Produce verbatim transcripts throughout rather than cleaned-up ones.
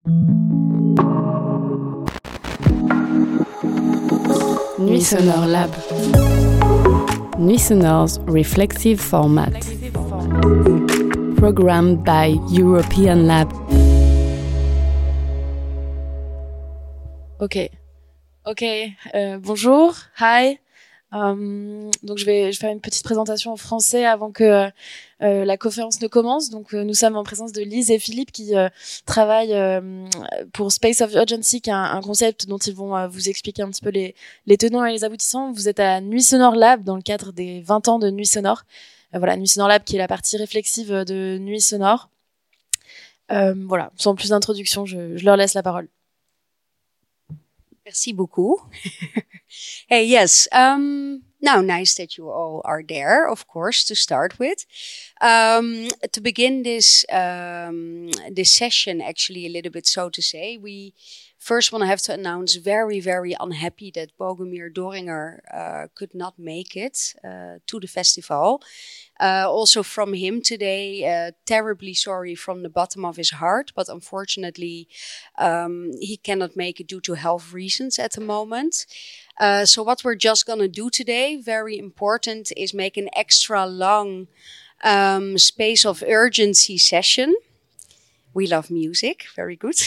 Nuit Sonore Lab. Nuit Sonore's reflexive format. Programmed by European Lab. Ok. Ok. Euh, bonjour. Hi. Euh, donc je vais, je vais faire une petite présentation en français avant que euh, la conférence ne commence. Donc euh, nous sommes en présence de Lise et Philippe qui euh, travaillent euh, pour Space of Urgency, qui est un, un concept dont ils vont euh, vous expliquer un petit peu les, les tenants et les aboutissants. Vous êtes à Nuit Sonore Lab dans le cadre des vingt ans de Nuit Sonore. Euh, voilà, Nuit Sonore Lab qui est la partie réflexive de Nuit Sonore. Euh, voilà, sans plus d'introduction, je, je leur laisse la parole. Merci beaucoup. Hey, yes. Um, now, nice that you all are there, of course, to start with. Um, to begin this um, this session, actually, a little bit so to say, we first want to have to announce very, very unhappy that Bogomir Doringer uh, could not make it uh, to the festival. Uh, also from him today, uh, terribly sorry from the bottom of his heart, but unfortunately um, he cannot make it due to health reasons at the moment. Uh, so what we're just going to do today, very important, is make an extra long um, space of urgency session. We love music. Very good.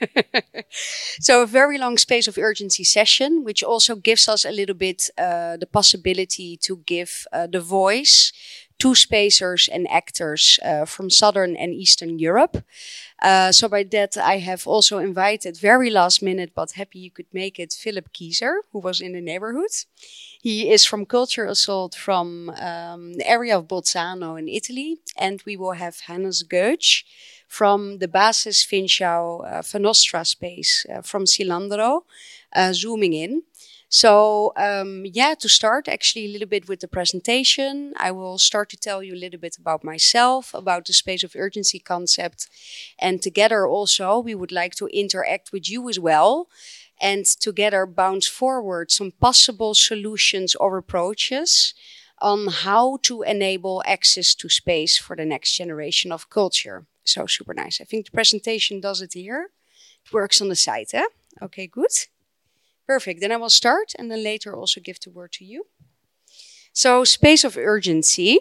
So a very long space of urgency session, which also gives us a little bit uh, the possibility to give uh, the voice to spacers and actors uh, from Southern and Eastern Europe. Uh, so by that, I have also invited, very last minute, but happy you could make it, Philip Kieser, who was in the neighborhood. He is from Culture Assault from um, the area of Bolzano in Italy. And we will have Hannes Goetsch from the Basis Finchau uh, Fanostra space uh, from Cilandro, uh, zooming in. So, um, yeah, to start actually a little bit with the presentation, I will start to tell you a little bit about myself, about the space of urgency concept. And together also, we would like to interact with you as well. And together bounce forward some possible solutions or approaches on how to enable access to space for the next generation of culture. So super nice. I think the presentation does it here. It works on the site, eh? Okay, good. Perfect. Then I will start and then later also give the word to you. So, space of urgency.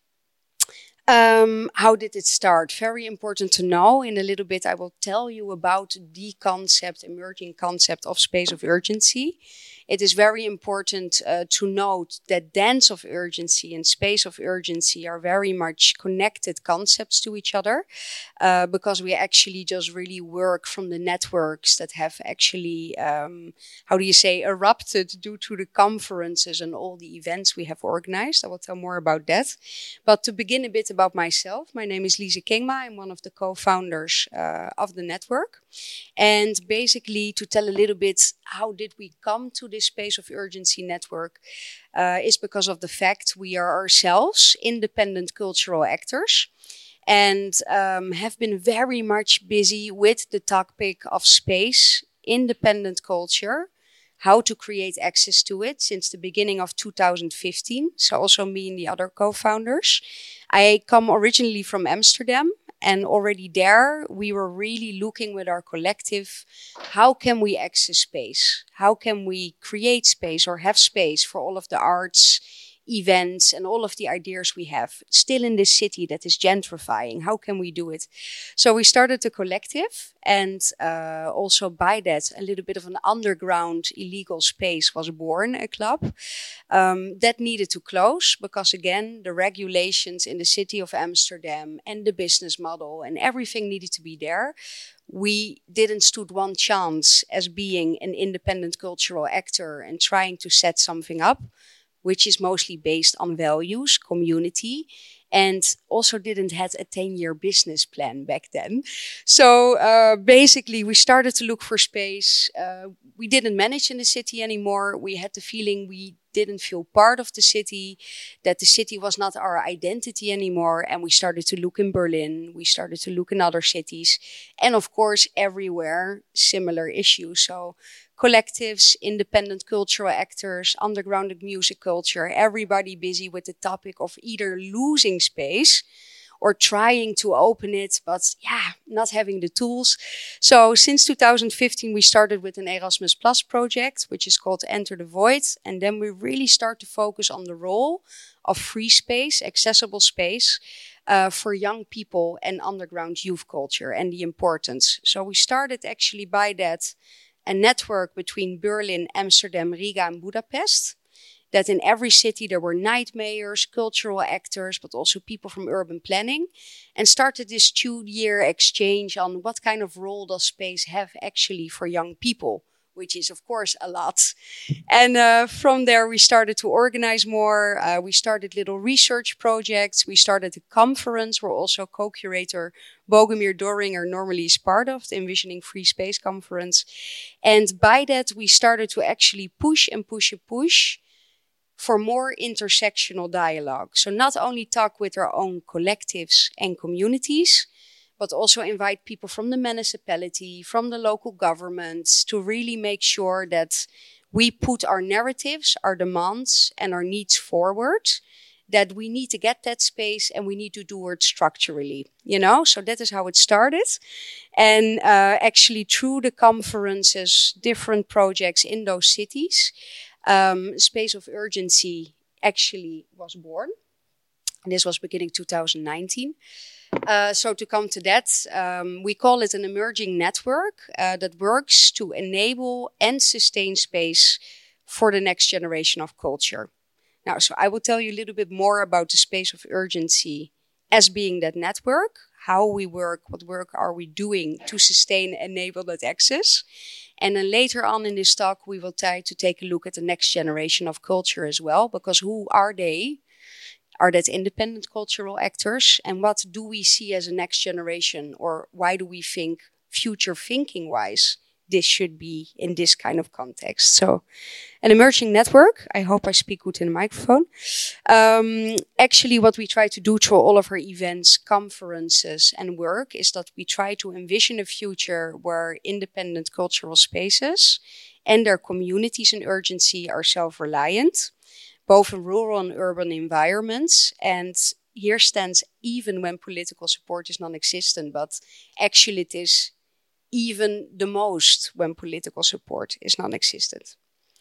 Um, how did it start? Very important to know. In a little bit, I will tell you about the concept, emerging concept of space of urgency. It is very important uh, to note that dance of urgency and space of urgency are very much connected concepts to each other uh, because we actually just really work from the networks that have actually, um, how do you say, erupted due to the conferences and all the events we have organized. I will tell more about that. But to begin a bit about myself, my name is Lise Kingma. I'm one of the co-founders uh, of the network. And basically to tell a little bit how did we come to this space of urgency network uh, is because of the fact we are ourselves independent cultural actors and um, have been very much busy with the topic of space, independent culture, how to create access to it since the beginning of two thousand fifteen. So also me and the other co-founders. I come originally from Amsterdam. And already there, we were really looking with our collective, how can we access space? How can we create space or have space for all of the arts, events, and all of the ideas we have still in this city that is gentrifying? How can we do it? So we started the collective, and uh, also by that, a little bit of an underground illegal space was born, a club um, that needed to close because, again, the regulations in the city of Amsterdam and the business model and everything needed to be there. We didn't stood one chance as being an independent cultural actor and trying to set something up, which is mostly based on values, community, and also didn't have a ten-year business plan back then. So uh, basically, we started to look for space. Uh, we didn't manage in the city anymore. We had the feeling we didn't feel part of the city, that the city was not our identity anymore. And we started to look in Berlin. We started to look in other cities. And of course, everywhere, similar issues. So collectives, independent cultural actors, underground music culture, everybody busy with the topic of either losing space or trying to open it, but yeah, not having the tools. So since two thousand fifteen, we started with an Erasmus Plus project, which is called Enter the Void. And then we really start to focus on the role of free space, accessible space, uh, for young people and underground youth culture and the importance. So we started actually by that a network between Berlin, Amsterdam, Riga and Budapest. That in every city there were night mayors, cultural actors, but also people from urban planning, and started this two-year exchange on what kind of role does space have actually for young people, which is of course a lot. And uh, from there we started to organize more. Uh, we started little research projects. We started a conference where also co-curator Bogomir Doringer normally is part of, the Envisioning Free Space Conference. And by that we started to actually push and push and push for more intersectional dialogue. So not only talk with our own collectives and communities, but also invite people from the municipality, from the local governments, to really make sure that we put our narratives, our demands, and our needs forward, that we need to get that space and we need to do it structurally, you know? So that is how it started. And uh, actually through the conferences, different projects in those cities, Um, Space of Urgency actually was born. And this was beginning two thousand nineteen. Uh, so to come to that, um, we call it an emerging network uh, that works to enable and sustain space for the next generation of culture. Now, so I will tell you a little bit more about the Space of Urgency as being that network, how we work, what work are we doing to sustain and enable that access. And then later on in this talk, we will try to take a look at the next generation of culture as well, because who are they? Are that independent cultural actors? And what do we see as a next generation? Or why do we think future thinking wise, this should be in this kind of context? So an emerging network, I hope I speak good in the microphone. Um, actually, what we try to do through all of our events, conferences and work is that we try to envision a future where independent cultural spaces and their communities in urgency are self-reliant, both in rural and urban environments. And here stands even when political support is non-existent, but actually it is even the most when political support is non-existent.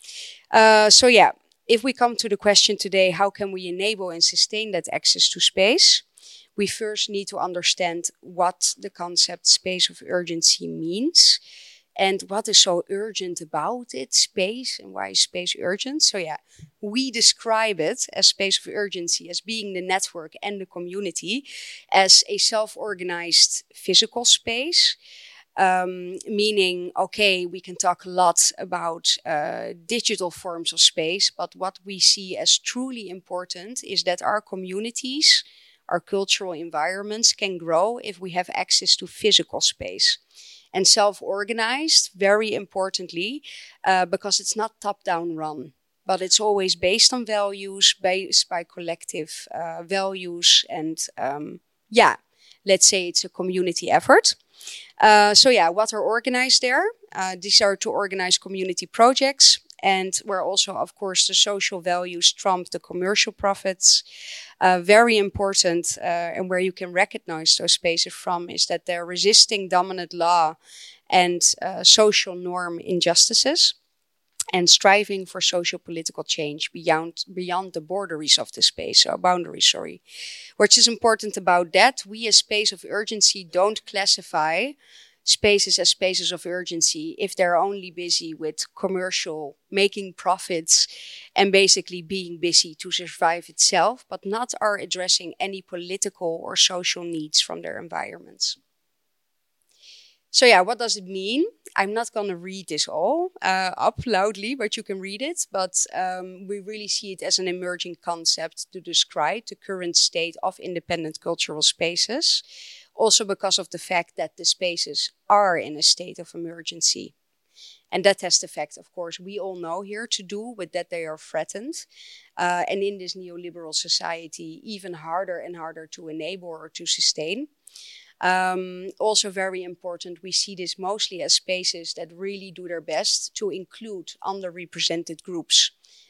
Uh, so yeah, if we come to the question today, how can we enable and sustain that access to space? We first need to understand what the concept space of urgency means and what is so urgent about it, space, and why is space urgent? So yeah, we describe it as space of urgency as being the network and the community as a self-organized physical space. Um, meaning, okay, we can talk a lot about uh, digital forms of space, but what we see as truly important is that our communities, our cultural environments can grow if we have access to physical space. And self-organized, very importantly, uh, because it's not top-down run, but it's always based on values, based by collective uh, values, and um, yeah, let's say it's a community effort. Uh, so yeah, what are organized there? Uh, these are to organize community projects, and where also, of course, the social values trump the commercial profits. Uh, very important, uh, and where you can recognize those spaces from is that they're resisting dominant law and uh, social norm injustices, and striving for social political change beyond beyond the boundaries of the space, or boundaries, sorry. Which is important about that, we as Space of Urgency don't classify spaces as spaces of urgency if they're only busy with commercial, making profits, and basically being busy to survive itself, but not are addressing any political or social needs from their environments. So yeah, what does it mean? I'm not going to read this all uh, up loudly, but you can read it. But um, we really see it as an emerging concept to describe the current state of independent cultural spaces. Also because of the fact that the spaces are in a state of emergency. And that has the fact, of course, we all know here to do with that they are threatened. Uh, and in this neoliberal society, even harder and harder to enable or to sustain. Um, also very important, we see this mostly as spaces that really do their best to include underrepresented groups.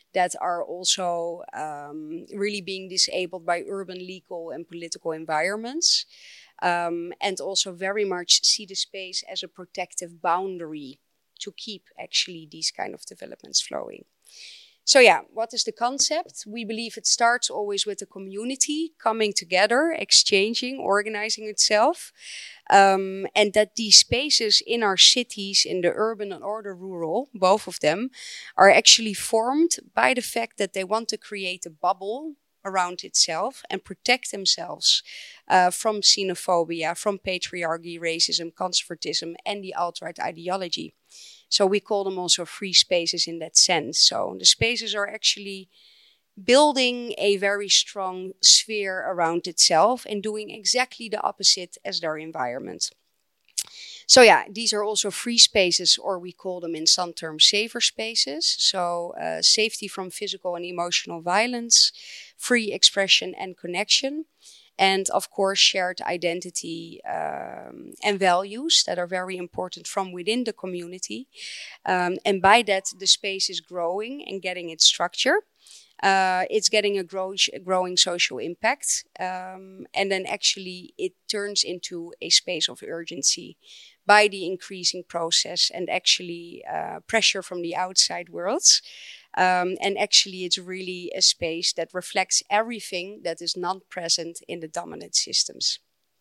that are also um, really being disabled by urban, legal, and political environments. Um, and also very much see the space as a protective boundary to keep actually these kind of developments flowing. So yeah, what is the concept? We believe it starts always with the community coming together, exchanging, organizing itself. Um, and that these spaces in our cities, in the urban or the rural, both of them, are actually formed by the fact that they want to create a bubble around itself and protect themselves uh, from xenophobia, from patriarchy, racism, conservatism, and the alt-right ideology. So we call them also free spaces in that sense. So the spaces are actually building a very strong sphere around itself and doing exactly the opposite as their environment. So yeah, these are also free spaces, or we call them in some terms safer spaces. So uh, safety from physical and emotional violence, free expression and connection. And of course, shared identity um, and values that are very important from within the community. Um, and by that, the space is growing and getting its structure. Uh, it's getting a grow growing social impact. Um, and then actually it turns into a space of urgency by the increasing process and actually uh, pressure from the outside world. Um, and actually, it's really a space that reflects everything that is not present in the dominant systems.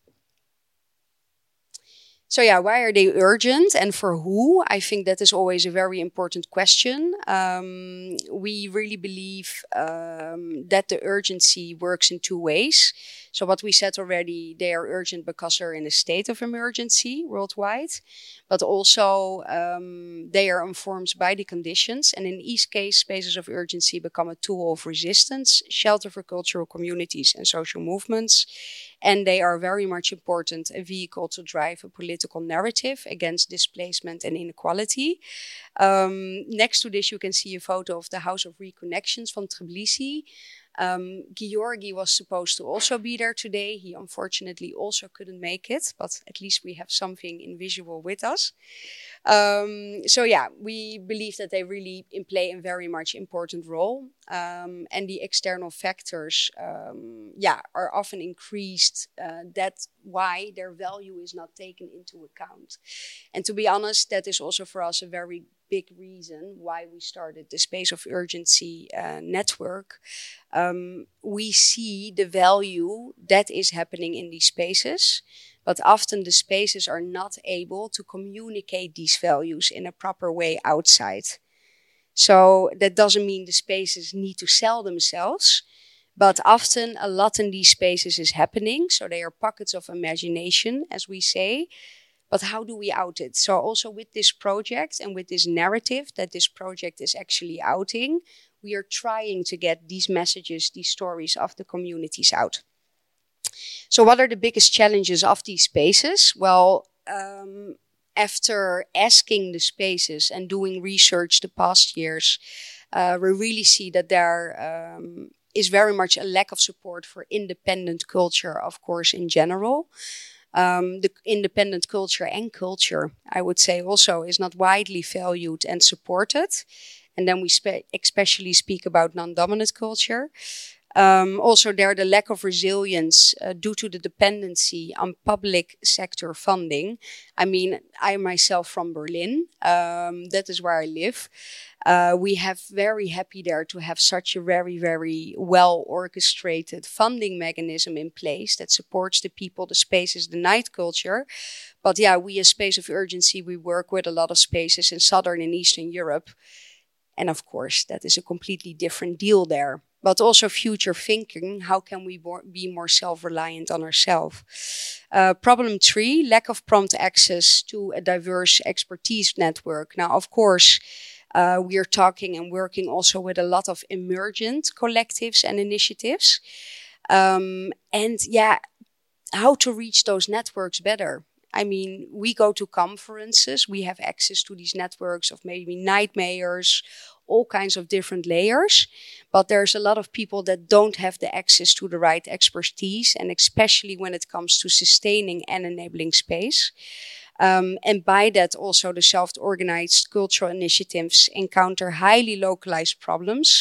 So yeah, why are they urgent and for who? I think that is always a very important question. Um, we really believe um, that the urgency works in two ways. So what we said already, they are urgent because they're in a state of emergency worldwide, but also um, they are informed by the conditions. And in each case, spaces of urgency become a tool of resistance, shelter for cultural communities and social movements. And they are very much important, a vehicle to drive a political narrative against displacement and inequality. Um, next to this, you can see a photo of the House of Reconnections from Tbilisi. Um, Georgi was supposed to also be there today. He unfortunately also couldn't make it, but at least we have something in visual with us. Um, so yeah, we believe that they really play a very much important role. Um, and the external factors, um, yeah, are often increased. Uh, that's why their value is not taken into account. And to be honest, that is also for us a very big reason why we started the Space of Urgency uh, network. Um, we see the value that is happening in these spaces, but often the spaces are not able to communicate these values in a proper way outside. So that doesn't mean the spaces need to sell themselves, but often a lot in these spaces is happening. So they are pockets of imagination, as we say. But how do we out it? So also with this project and with this narrative that this project is actually outing, we are trying to get these messages, these stories of the communities out. So what are the biggest challenges of these spaces? Well, um, after asking the spaces and doing research the past years, uh, we really see that there um, is very much a lack of support for independent culture, of course, in general. Um, the independent culture and culture, I would say also, is not widely valued and supported. And then we spe- especially speak about non-dominant culture. Um, also there, the lack of resilience uh, due to the dependency on public sector funding. I mean, I myself from Berlin, um, that is where I live. Uh, we have very happy there to have such a very, very well orchestrated funding mechanism in place that supports the people, the spaces, the night culture. But yeah, we as Space of Urgency, we work with a lot of spaces in Southern and Eastern Europe. And of course, that is a completely different deal there. But also future thinking, how can we more, be more self-reliant on ourselves? Uh, problem three, lack of prompt access to a diverse expertise network. Now, of course, uh, we are talking and working also with a lot of emergent collectives and initiatives. Um, and yeah, how to reach those networks better. I mean, we go to conferences, we have access to these networks of maybe night mayors, all kinds of different layers, but there's a lot of people that don't have the access to the right expertise, and especially when it comes to sustaining and enabling space. Um, and by that, also the self-organized cultural initiatives encounter highly localized problems,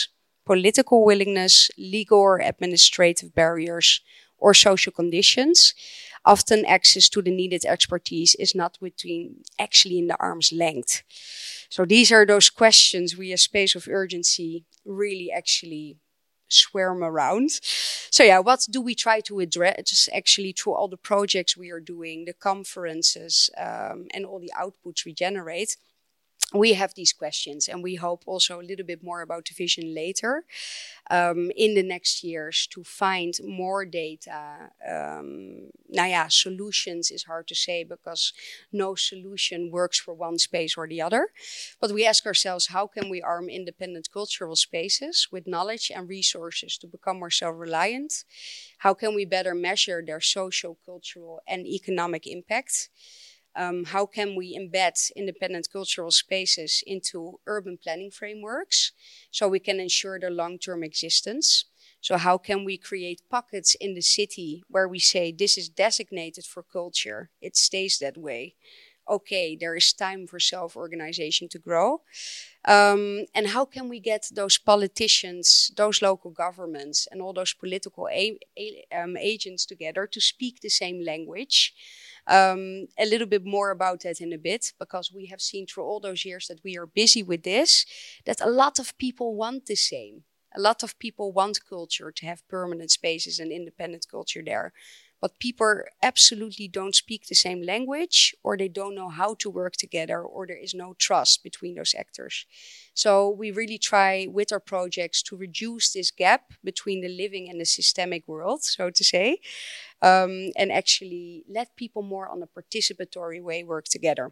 political willingness, legal or administrative barriers, or social conditions. Often access to the needed expertise is not between actually in the arm's length. So these are those questions we as Space of Urgency really actually swarm around. So yeah, what do we try to address just actually through all the projects we are doing, the conferences, um, and all the outputs we generate? We have these questions, and we hope also a little bit more about the vision later um, in the next years to find more data. Um, now, yeah, solutions is hard to say because no solution works for one space or the other. But we ask ourselves, how can we arm independent cultural spaces with knowledge and resources to become more self-reliant? How can we better measure their social, cultural, and economic impact? Um, how can we embed independent cultural spaces into urban planning frameworks so we can ensure their long-term existence? So how can we create pockets in the city where we say this is designated for culture, it stays that way. Okay, there is time for self-organization to grow. Um, and how can we get those politicians, those local governments, and all those political a- a- um, agents together to speak the same language? Um, a little bit more about that in a bit, because we have seen through all those years that we are busy with this, that a lot of people want the same. A lot of people want culture, to have permanent spaces and independent culture there. But people absolutely don't speak the same language, or they don't know how to work together, or there is no trust between those actors. So we really try with our projects to reduce this gap between the living and the systemic world, so to say, um, and actually let people more on a participatory way work together.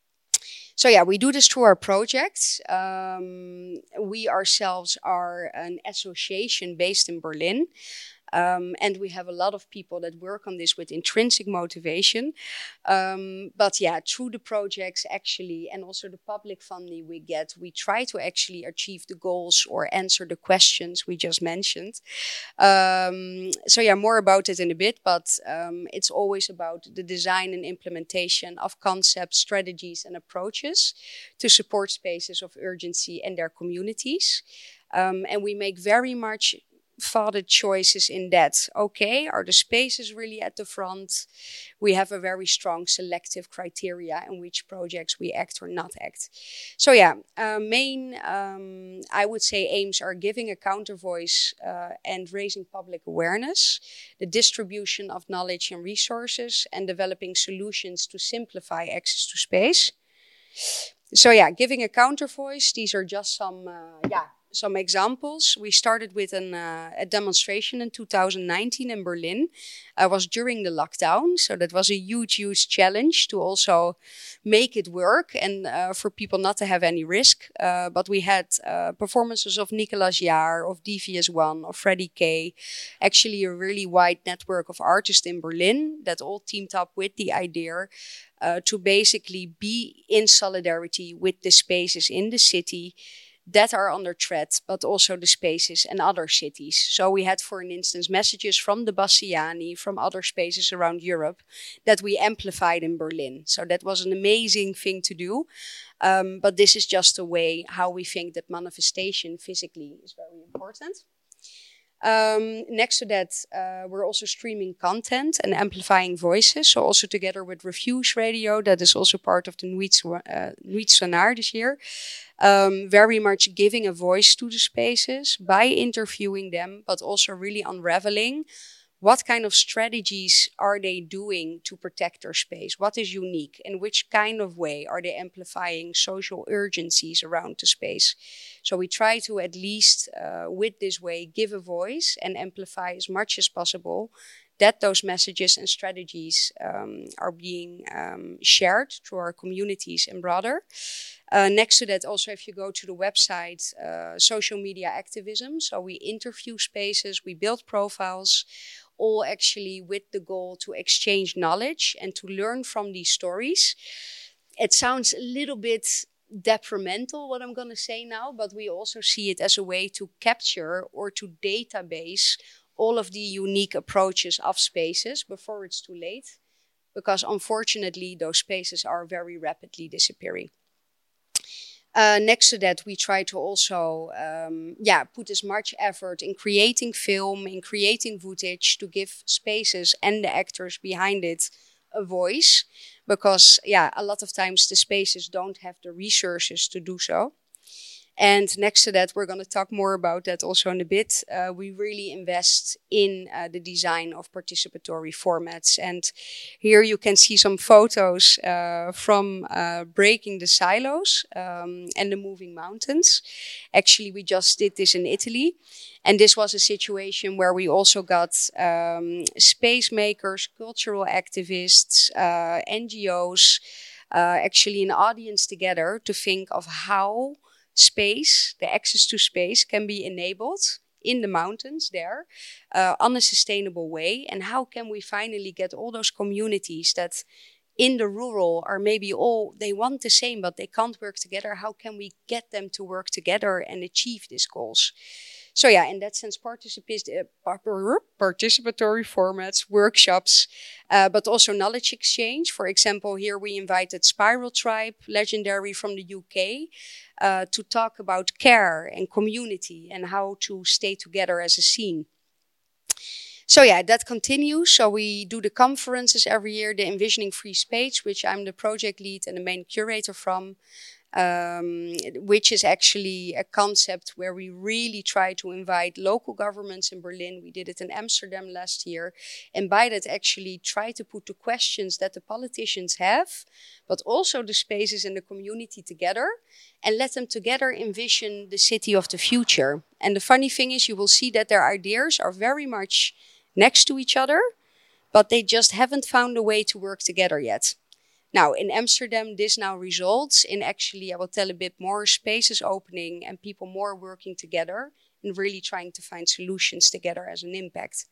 So yeah, we do this through our projects. Um, we ourselves are an association based in Berlin. Um, and we have a lot of people that work on this with intrinsic motivation. Um, but yeah, through the projects actually, and also the public funding we get, we try to actually achieve the goals or answer the questions we just mentioned. Um, so yeah, more about it in a bit, but um, it's always about the design and implementation of concepts, strategies, and approaches to support spaces of urgency and their communities. Um, and we make very much thoughted choices in that. Okay, are the spaces really at the front? We have a very strong selective criteria in which projects we act or not act. So yeah, uh, main, um, I would say, aims are giving a counter voice uh, and raising public awareness, the distribution of knowledge and resources, and developing solutions to simplify access to space. So yeah, giving a counter voice, these are just some, uh, yeah, Some examples. We started with an, uh, a demonstration in two thousand nineteen in Berlin. I was during the lockdown, so that was a huge, huge challenge to also make it work and uh, for people not to have any risk. Uh, but we had uh, performances of Nicolas Jaar, of D V S one, of Freddie K. Actually a really wide network of artists in Berlin that all teamed up with the idea uh, to basically be in solidarity with the spaces in the city that are under threat, but also the spaces and other cities. So we had, for instance, messages from the Bassiani, from other spaces around Europe, that we amplified in Berlin. So that was an amazing thing to do. Um, but this is just a way how we think that manifestation physically is very important. Um, next to that, uh, we're also streaming content and amplifying voices. So also together with Refuse Radio, that is also part of the Nuit uh, Sonar this year. Um, very much giving a voice to the spaces by interviewing them, but also really unraveling what kind of strategies are they doing to protect their space? What is unique? In which kind of way are they amplifying social urgencies around the space? So we try to at least, uh, with this way, give a voice and amplify as much as possible that those messages and strategies um, are being um, shared through our communities and broader. Uh, next to that, also, if you go to the website, uh, social media activism. So we interview spaces, we build profiles, all actually with the goal to exchange knowledge and to learn from these stories. It sounds a little bit detrimental, what I'm going to say now, but we also see it as a way to capture or to database all of the unique approaches of spaces before it's too late, because unfortunately those spaces are very rapidly disappearing. Uh, next to that, we try to also, um, yeah, put as much effort in creating film, in creating footage to give spaces and the actors behind it a voice, because, yeah, a lot of times the spaces don't have the resources to do so. And next to that, we're going to talk more about that also in a bit. Uh, we really invest in uh, the design of participatory formats. And here you can see some photos uh, from uh, Breaking the Silos um, and the Moving Mountains. Actually, we just did this in Italy. And this was a situation where we also got um, space makers, cultural activists, uh, N G Os, uh, actually an audience together to think of how space, the access to space, can be enabled in the mountains there uh, on a sustainable way. And how can we finally get all those communities that in the rural are maybe all, they want the same, but they can't work together. How can we get them to work together and achieve these goals? So yeah, in that sense, particip- uh, participatory formats, workshops, uh, but also knowledge exchange. For example, here we invited Spiral Tribe, legendary from the U K, uh, to talk about care and community and how to stay together as a scene. So yeah, that continues. So we do the conferences every year, the Envisioning Free Space, which I'm the project lead and the main curator from. Um, which is actually a concept where we really try to invite local governments in Berlin. We did it in Amsterdam last year. And by that actually try to put the questions that the politicians have, but also the spaces in the community together, and let them together envision the city of the future. And the funny thing is, you will see that their ideas are very much next to each other, but they just haven't found a way to work together yet. Now, in Amsterdam, this now results in actually, I will tell a bit more, spaces opening and people more working together and really trying to find solutions together as an impact.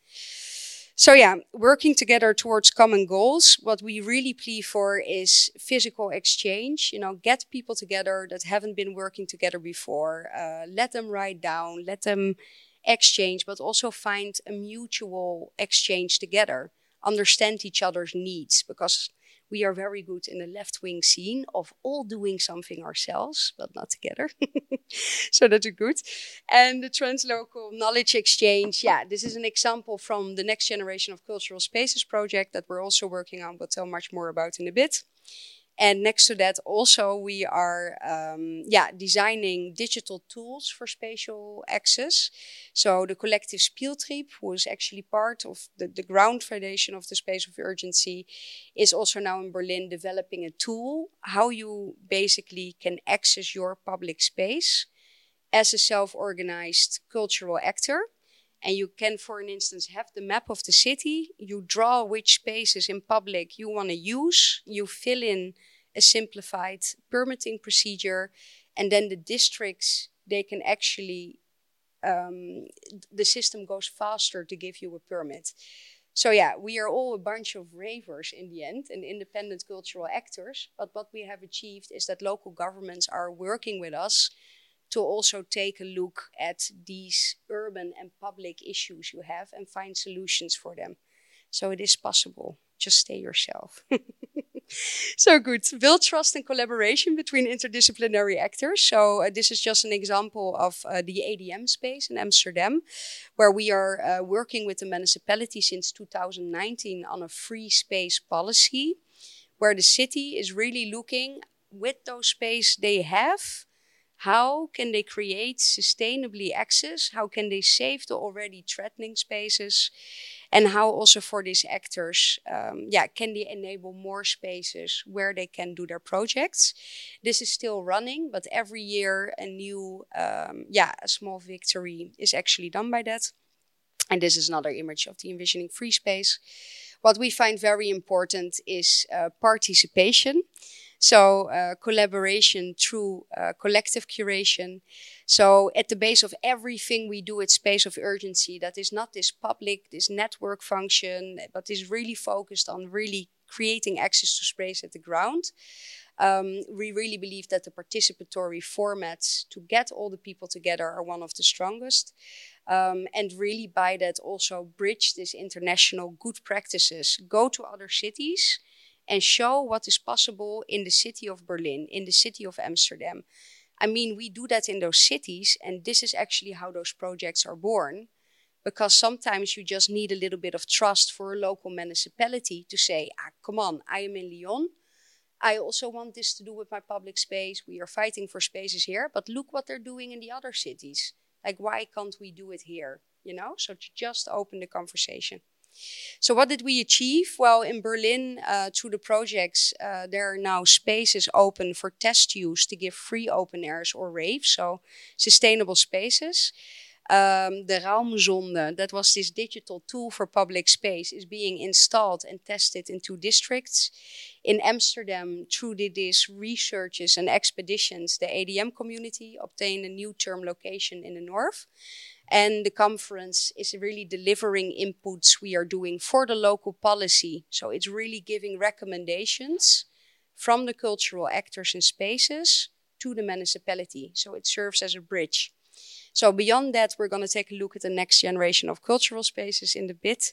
So yeah, working together towards common goals. What we really plea for is physical exchange. You know, get people together that haven't been working together before. Uh, let them write down, let them exchange, but also find a mutual exchange together. Understand each other's needs, because we are very good in the left-wing scene of all doing something ourselves, but not together. So that's good. And the translocal knowledge exchange. Yeah, this is an example from the Next Generation of Cultural Spaces project that we're also working on. We'll tell much more about in a bit. And next to that, also, we are um, yeah, designing digital tools for spatial access. So the collective Spieltrieb, who is actually part of the, the ground foundation of the Space of Urgency, is also now in Berlin developing a tool, how you basically can access your public space as a self-organized cultural actor. And you can, for an instance, have the map of the city. You draw which spaces in public you want to use. You fill in a simplified permitting procedure. And then the districts, they can actually, um, the system goes faster to give you a permit. So yeah, we are all a bunch of ravers in the end and independent cultural actors. But what we have achieved is that local governments are working with us to also take a look at these urban and public issues you have and find solutions for them. So it is possible. Just stay yourself. So good. Build trust and collaboration between interdisciplinary actors. So uh, this is just an example of uh, the A D M space in Amsterdam, where we are uh, working with the municipality since two thousand nineteen on a free space policy, where the city is really looking with those space they have, how can they create sustainably access? How can they save the already threatening spaces? And how also for these actors, um, yeah, can they enable more spaces where they can do their projects? This is still running, but every year a new, um, yeah, a small victory is actually done by that. And this is another image of the Envisioning Free Space. What we find very important is uh, participation. So uh, collaboration through uh, collective curation. So at the base of everything we do at Space of Urgency, that is not this public, this network function, but is really focused on really creating access to space at the ground. Um, we really believe that the participatory formats to get all the people together are one of the strongest. Um, and really by that also bridge this international good practices, go to other cities and show what is possible in the city of Berlin, in the city of Amsterdam. I mean, we do that in those cities, and this is actually how those projects are born. Because sometimes you just need a little bit of trust for a local municipality to say, ah, come on, I am in Lyon. I also want this to do with my public space. We are fighting for spaces here, but look what they're doing in the other cities. Like, why can't we do it here? You know, so to just open the conversation. So what did we achieve? Well, in Berlin, uh, through the projects, uh, there are now spaces open for test use to give free open airs or raves, so sustainable spaces. Um, the Raumzonde, that was this digital tool for public space, is being installed and tested in two districts. In Amsterdam, through these researches and expeditions, the A D M community obtained a new term location in the north. And the conference is really delivering inputs we are doing for the local policy. So it's really giving recommendations from the cultural actors in spaces to the municipality. So it serves as a bridge. So beyond that, we're going to take a look at the next generation of cultural spaces in a bit.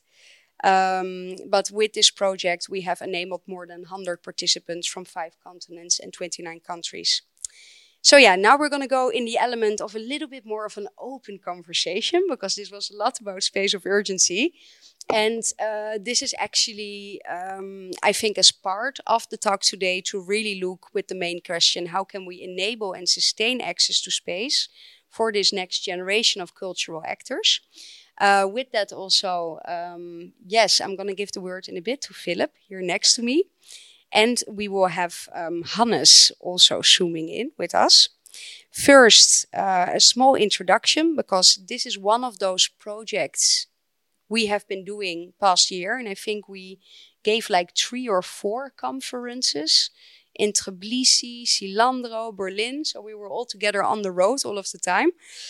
Um, but with this project, we have enabled more than one hundred participants from five continents and twenty-nine countries. So yeah, now we're going to go in the element of a little bit more of an open conversation, because this was a lot about space of urgency. And uh, this is actually, um, I think, as part of the talk today, to really look with the main question, how can we enable and sustain access to space for this next generation of cultural actors? Uh, with that also, um, yes, I'm going to give the word in a bit to Philip here next to me. And we will have um, Hannes also zooming in with us. First, uh, a small introduction, because this is one of those projects we have been doing past year. And I think we gave like three or four conferences in Tbilisi, Silandro, Berlin. So we were all together on the road all of the time.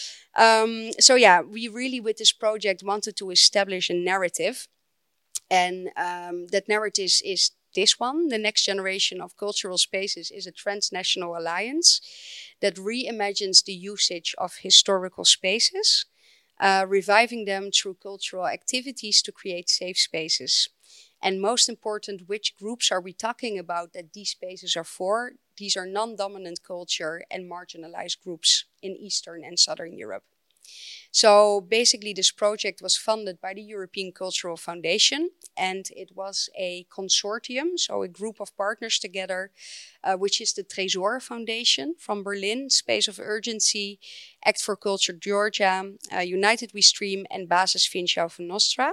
Um, so yeah, we really with this project wanted to establish a narrative. And um, that narrative is this one. The Next Generation of Cultural Spaces is a transnational alliance that reimagines the usage of historical spaces, uh, reviving them through cultural activities to create safe spaces. And most important, which groups are we talking about that these spaces are for? These are non-dominant culture and marginalized groups in Eastern and Southern Europe. So basically this project was funded by the European Cultural Foundation, and it was a consortium, so a group of partners together, uh, which is the Tresor Foundation from Berlin, Space of Urgency, Act for Culture Georgia, uh, United We Stream, and Basis Vinsjau van Nostra.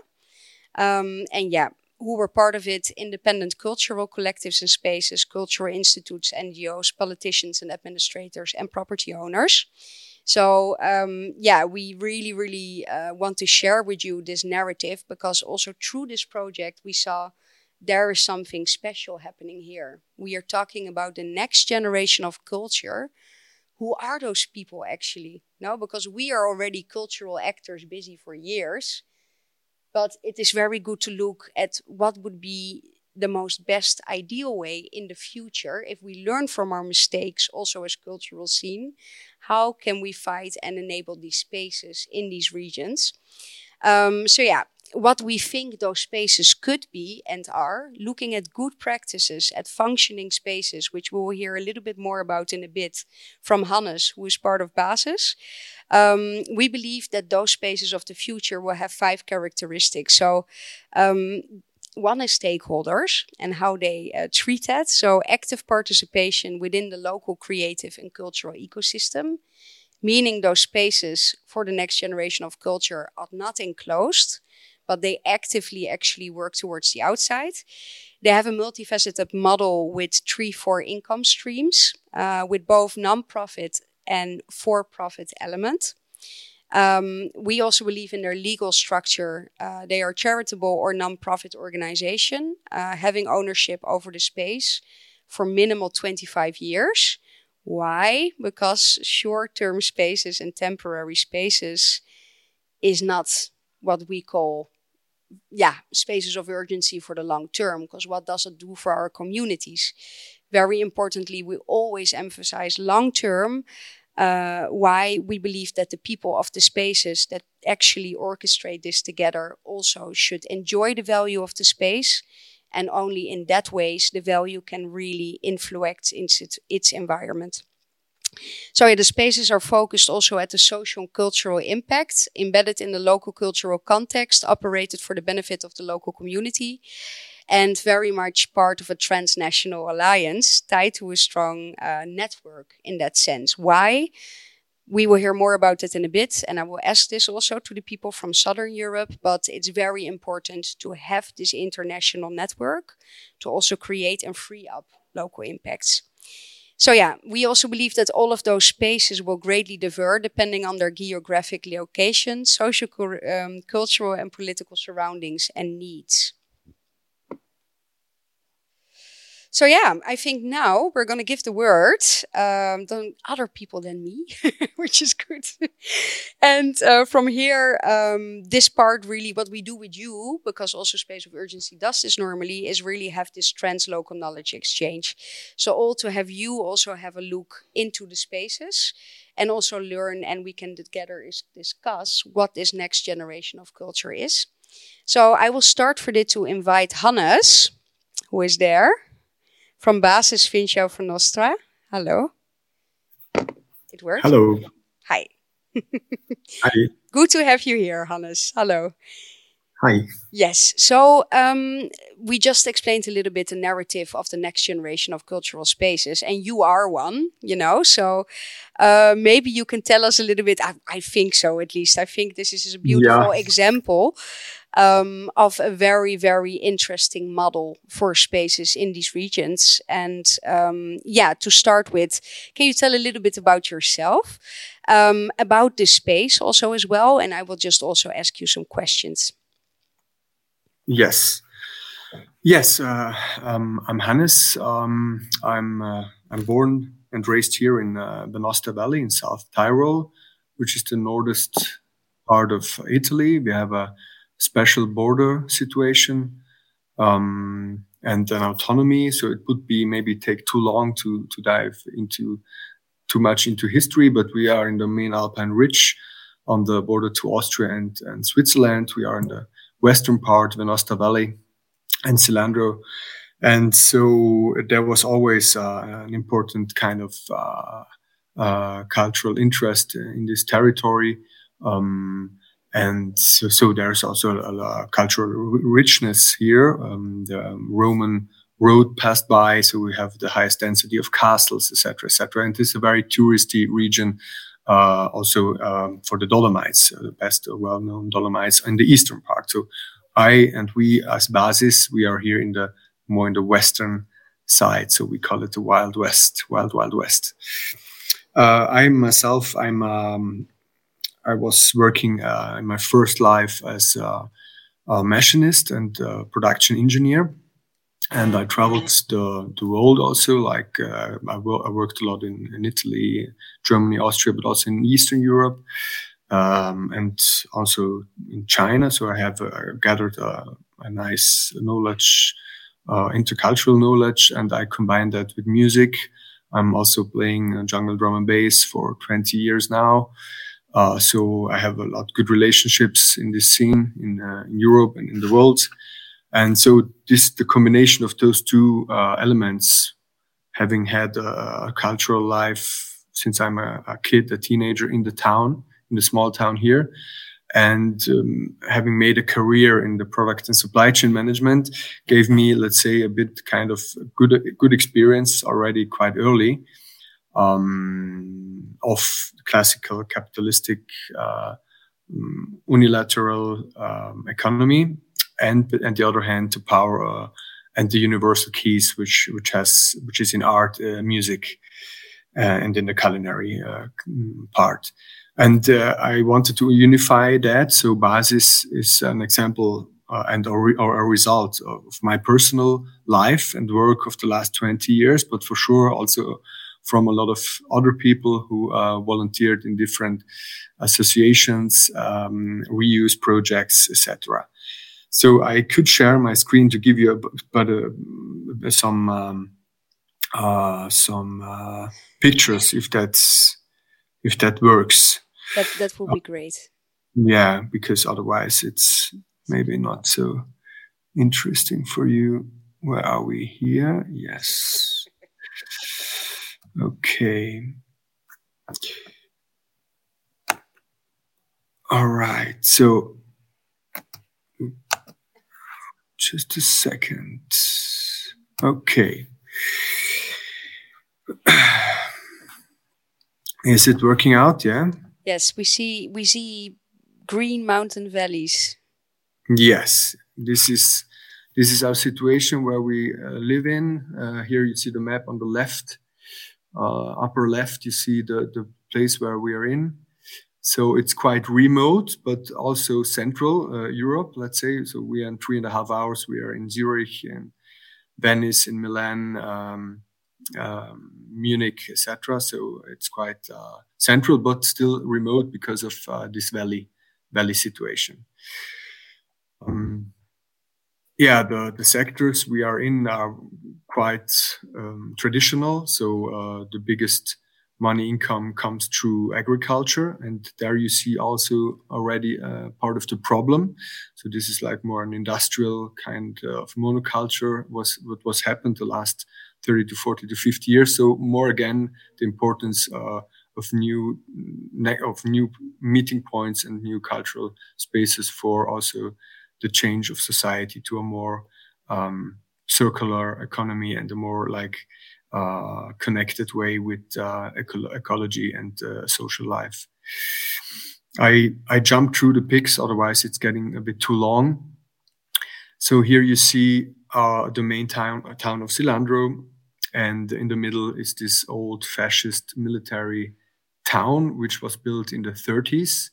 Um, and yeah, who were part of it: independent cultural collectives and spaces, cultural institutes, N G Os, politicians and administrators, and property owners. So um, yeah, we really, really uh, want to share with you this narrative, because also through this project, we saw there is something special happening here. We are talking about the next generation of culture. Who are those people actually? No, because we are already cultural actors busy for years, but it is very good to look at what would be the most best ideal way in the future, if we learn from our mistakes also as cultural scene, how can we fight and enable these spaces in these regions? Um, so yeah, what we think those spaces could be and are, looking at good practices at functioning spaces, which we'll hear a little bit more about in a bit from Hannes, who is part of Basis. Um, we believe that those spaces of the future will have five characteristics. So um, one is stakeholders and how they uh, treat that. So active participation within the local creative and cultural ecosystem, meaning those spaces for the next generation of culture are not enclosed, but they actively actually work towards the outside. They have a multifaceted model with three, four income streams, uh, with both non-profit and for-profit element. Um, we also believe in their legal structure. Uh, they are charitable or non-profit organization, uh, having ownership over the space for minimal twenty-five years. Why? Because short-term spaces and temporary spaces is not what we call, yeah, spaces of urgency for the long term. Because what does it do for our communities? Very importantly, we always emphasize long-term. Uh, why we believe that the people of the spaces that actually orchestrate this together also should enjoy the value of the space, and only in that ways the value can really influence its, its environment. So yeah, the spaces are focused also at the social and cultural impact, embedded in the local cultural context, operated for the benefit of the local community, and very much part of a transnational alliance tied to a strong uh, network in that sense. Why? We will hear more about it in a bit, and I will ask this also to the people from Southern Europe, but it's very important to have this international network to also create and free up local impacts. So yeah, we also believe that all of those spaces will greatly differ depending on their geographic location, social, um, cultural and political surroundings and needs. So yeah, I think now we're going to give the word um, to other people than me, which is good. And uh, from here, um, this part really what we do with you, because also Space of Urgency does this normally, is really have this translocal knowledge exchange. So all to have you also have a look into the spaces and also learn, and we can together is discuss what this next generation of culture is. So I will start for this to invite Hannes, who is there. From Basis Vinciao van Nostra. Hello. It works? Hello. Hi. Hi. Good to have you here, Hannes. Hello. Hi. Yes. So um, we just explained a little bit the narrative of the next generation of cultural spaces, and you are one, you know. So uh, maybe you can tell us a little bit. I, I think so, at least. I think this is a beautiful yeah. example um, of a very, very interesting model for spaces in these regions. And um, yeah, to start with, can you tell a little bit about yourself, um, about this space also as well? And I will just also ask you some questions. Yes. Yes, uh, um, I'm Hannes. Um, I'm uh, I'm born and raised here in uh, the Nostra Valley in South Tyrol, which is the northest part of Italy. We have a special border situation um, and an autonomy, so it would be maybe take too long to to dive into too much into history. But we are in the main Alpine ridge on the border to Austria and, and Switzerland. We are in the western part of the Nostra Valley and Cilandro. And so there was always uh, an important kind of uh, uh, cultural interest in this territory. Um, and so, so there's also a, a cultural richness here. Um, the Roman road passed by, so we have the highest density of castles, et cetera, et cetera. And this is a very touristy region. Uh, also um, for the Dolomites, uh, the best uh, well-known Dolomites in the eastern part. So I and we as Basis, we are here in the more in the western side. So we call it the Wild West, Wild Wild West. Uh, I myself, I'm um, I was working uh, in my first life as a, a machinist and a production engineer. And I traveled the, the world also, like uh, I, wo- I worked a lot in, in Italy, Germany, Austria, but also in Eastern Europe, um, and also in China. So I have uh, gathered a, a nice knowledge, uh, intercultural knowledge, and I combined that with music. I'm also playing uh, jungle drum and bass for twenty years now. Uh, so I have a lot of good relationships in this scene in, uh, in Europe and in the world. And so this, the combination of those two uh, elements, having had a, a cultural life since I'm a, a kid, a teenager in the town, in the small town here, and um, having made a career in the product and supply chain management, gave me, let's say, a bit kind of good, good experience already quite early um, of classical capitalistic uh, unilateral um, economy. And on the other hand, to power uh, and the universal keys, which which has which is in art, uh, music, uh, and in the culinary uh, part. And uh, I wanted to unify that. So Basis is an example uh, and or, or a result of my personal life and work of the last twenty years, but for sure also from a lot of other people who uh, volunteered in different associations, um, reuse projects, et cetera. So I could share my screen to give you a, but uh, some um, uh, some uh, pictures if that's if that works. That that would be great. Yeah, because otherwise it's maybe not so interesting for you. Where are we here? Yes. Okay. All right, so just a second. Okay. Is it working out? Yeah. Yes, we see we see green mountain valleys. Yes, this is this is our situation where we uh, live in. Uh, here you see the map on the left, uh, upper left. You see the the place where we are in. So it's quite remote, but also central uh, Europe. Let's say so. We are in three and a half hours. We are in Zurich and Venice, in Milan, um, um, Munich, et cetera. So it's quite uh, central, but still remote because of uh, this valley valley situation. Um, yeah, the, the sectors we are in are quite um, traditional. So uh, the biggest money income comes through agriculture, and there you see also already uh, part of the problem. So this is like more an industrial kind of monoculture was what was happened the last thirty to forty to fifty years. So more again, the importance uh, of new of new meeting points and new cultural spaces for also the change of society to a more um, circular economy and a more like uh, connected way with uh, eco- ecology and uh, social life. I I jumped through the pics, otherwise it's getting a bit too long. So here you see uh, the main town, uh, town of Silandro, and in the middle is this old fascist military town, which was built in the thirties.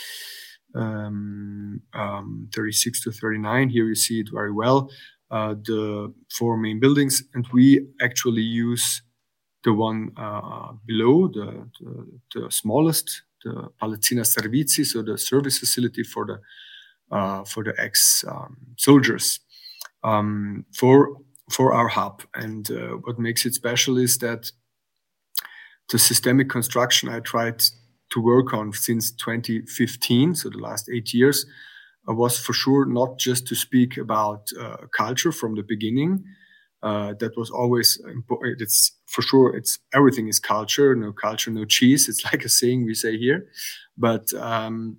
Um, um, thirty-six to thirty-nine. Here you see it very well. Uh, the four main buildings, and we actually use the one uh, below, the, the, the smallest, the Palazzina Servizi, so the service facility for the uh, for the ex-soldiers um, um, for for our hub. And uh, what makes it special is that the systemic construction I tried to work on since twenty fifteen, so the last eight years, uh, was for sure not just to speak about uh, culture from the beginning. Uh, that was always important. It's for sure, it's everything is culture. No culture, no cheese. It's like a saying we say here. But um,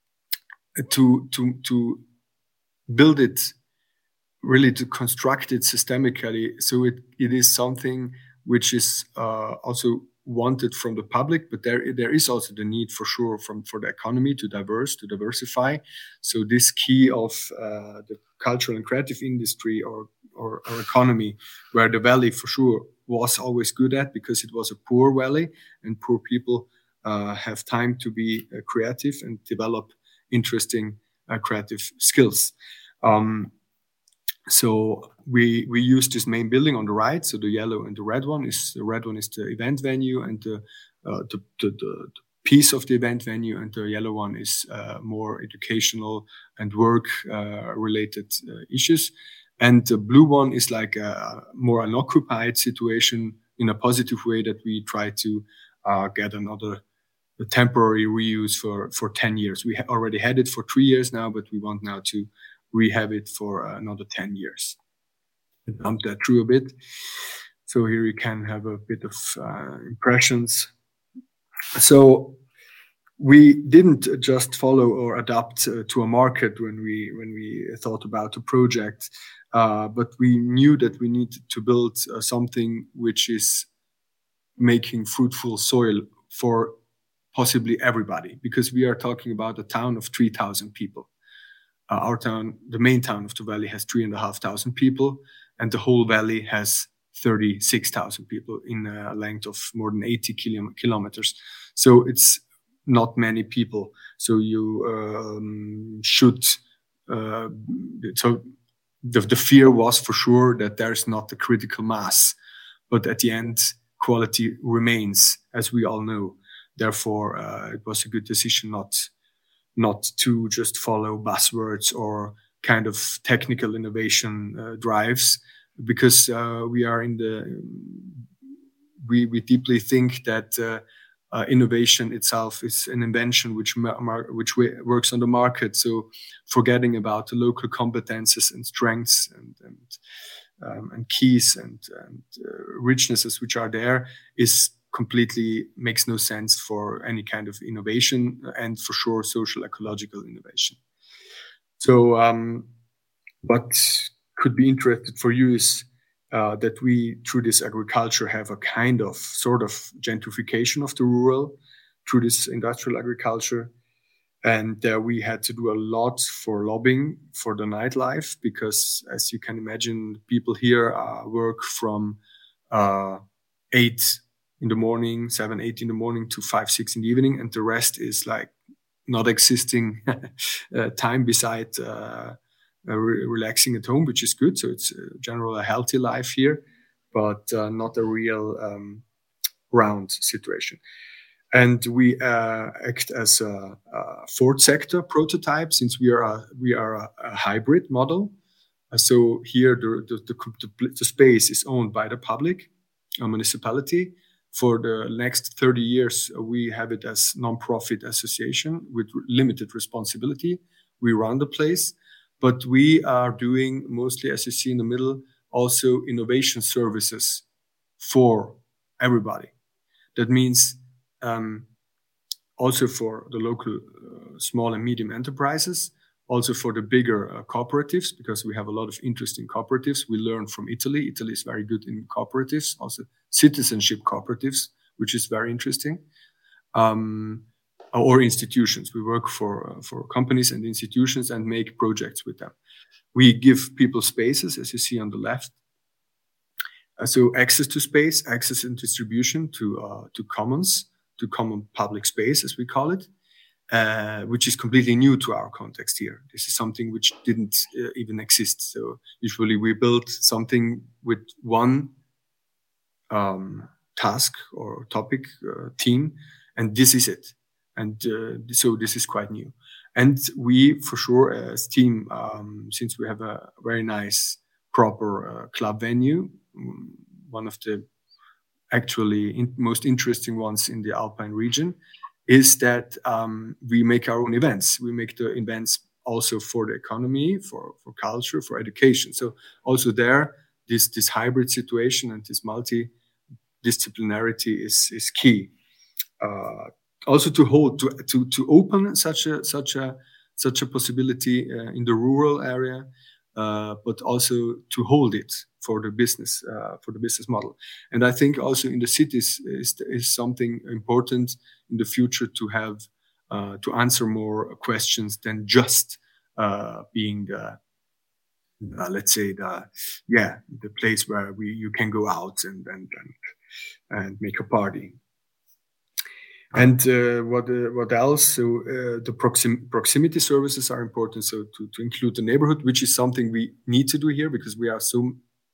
to to to build it, really to construct it systemically, so it it is something which is uh, also wanted from the public, but there there is also the need for sure from for the economy to diverse to diversify. So this key of uh, the cultural and creative industry or, or or economy, where the valley for sure was always good at, because it was a poor valley and poor people uh, have time to be uh, creative and develop interesting uh, creative skills. Um, So we we use this main building on the right. So the yellow and the red one is the red one is the event venue, and the uh, the, the, the the piece of the event venue, and the yellow one is uh, more educational and work uh, related uh, issues. And the blue one is like a more an occupied situation in a positive way, that we try to uh, get another a temporary reuse for for ten years. We ha- already had it for three years now, but we want now to rehab it for another ten years. I bumped that through a bit. So here you can have a bit of uh, impressions. So we didn't just follow or adapt uh, to a market when we when we thought about a project, uh, but we knew that we needed to build uh, something which is making fruitful soil for possibly everybody, because we are talking about a town of three thousand people. Uh, our town, the main town of the valley, has three and a half thousand people, and the whole valley has thirty-six thousand people in a length of more than eighty kilo- kilometers. So it's not many people. So you um, should. Uh, so the, the fear was for sure that there's not a critical mass, but at the end, quality remains, as we all know. Therefore, uh, it was a good decision not. not to just follow buzzwords or kind of technical innovation uh, drives, because uh, we are in the, we, we deeply think that uh, uh, innovation itself is an invention which mar- which works on the market. So forgetting about the local competences and strengths and and, um, and keys and, and uh, richnesses which are there is completely makes no sense for any kind of innovation, and for sure social ecological innovation. So um, what could be interesting for you is uh, that we, through this agriculture, have a kind of sort of gentrification of the rural through this industrial agriculture. And uh, we had to do a lot for lobbying for the nightlife, because as you can imagine, people here uh, work from uh, eight in the morning, seven, eight in the morning to five, six in the evening. And the rest is like not existing uh, time beside uh, uh, re- relaxing at home, which is good. So it's uh, generally a healthy life here, but uh, not a real um, round situation. And we uh, act as a, a fourth sector prototype, since we are a, we are a, a hybrid model. Uh, so here the, the, the, the space is owned by the public, a municipality. For the next thirty years, uh, we have it as non-profit association with limited responsibility. We run the place, but we are doing mostly, as you see in the middle, also innovation services for everybody. That means um, also for the local uh, small and medium enterprises, also for the bigger uh, cooperatives, because we have a lot of interesting cooperatives. We learn from Italy. Italy is very good in cooperatives, also citizenship cooperatives, which is very interesting, um, or institutions. We work for uh, for companies and institutions and make projects with them. We give people spaces, as you see on the left. Uh, so access to space, access and distribution to uh, to commons, to common public space, as we call it. Uh, which is completely new to our context here. This is something which didn't uh, even exist. So usually we build something with one um, task or topic uh, team, and this is it. And uh, so this is quite new. And we, for sure, as team, um, since we have a very nice, proper uh, club venue, one of the actually in- most interesting ones in the Alpine region, is that um, we make our own events. We make the events also for the economy, for, for culture, for education. So also there, this this hybrid situation and this multidisciplinarity is is key. Uh, also to hold to to to open such a such a such a possibility uh, in the rural area, uh, but also to hold it for the business uh, for the business model. And I think also in the cities is is something important in the future to have uh, to answer more questions than just uh, being the uh, let's say the yeah the place where we you can go out and and and, and make a party. And uh, what uh, what else? So uh, the proxim- proximity services are important. So to, to include the neighborhood, which is something we need to do here because we are so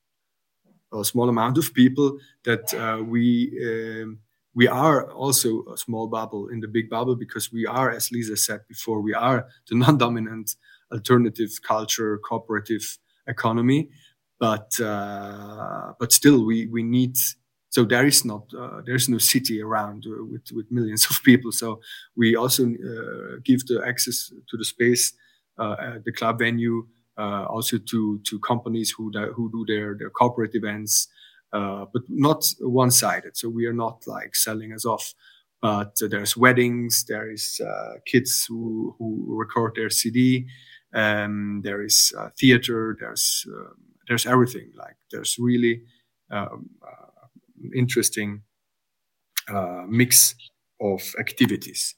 a small amount of people that uh, we um, we are also a small bubble in the big bubble, because we are, as Lisa said before, we are the non-dominant alternative culture cooperative economy, but uh, but still we we need. So there is not uh, there is no city around uh, with with millions of people. So we also uh, give the access to the space, uh, at the club venue, uh, also to to companies who do, who do their their corporate events, uh, but not one-sided. So we are not like selling us off. But uh, there's weddings, there is uh, kids who who record their C D, um, there is uh, theater, there's uh, there's everything. Like there's really. Um, uh, interesting uh, mix of activities.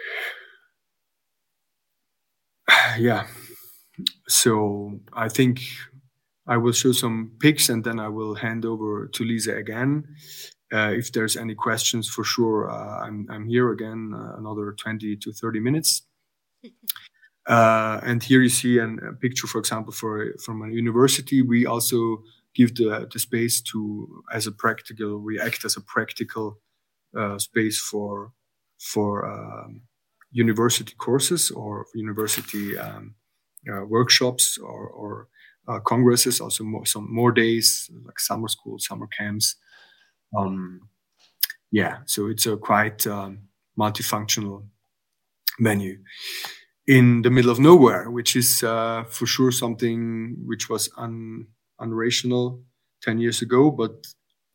Yeah, so I think I will show some pics and then I will hand over to Lisa again. Uh, if there's any questions, for sure, uh, I'm, I'm here again uh, another twenty to thirty minutes. Uh, and here you see an, a picture, for example, for from a university. We also give the, the space to as a practical. We act as a practical uh, space for for um, university courses or university um, uh, workshops or, or uh, congresses. Also, more, some more days like summer school, summer camps. Um, yeah, so it's a quite um, multifunctional venue in the middle of nowhere, which is uh, for sure something which was un, unrational ten years ago, but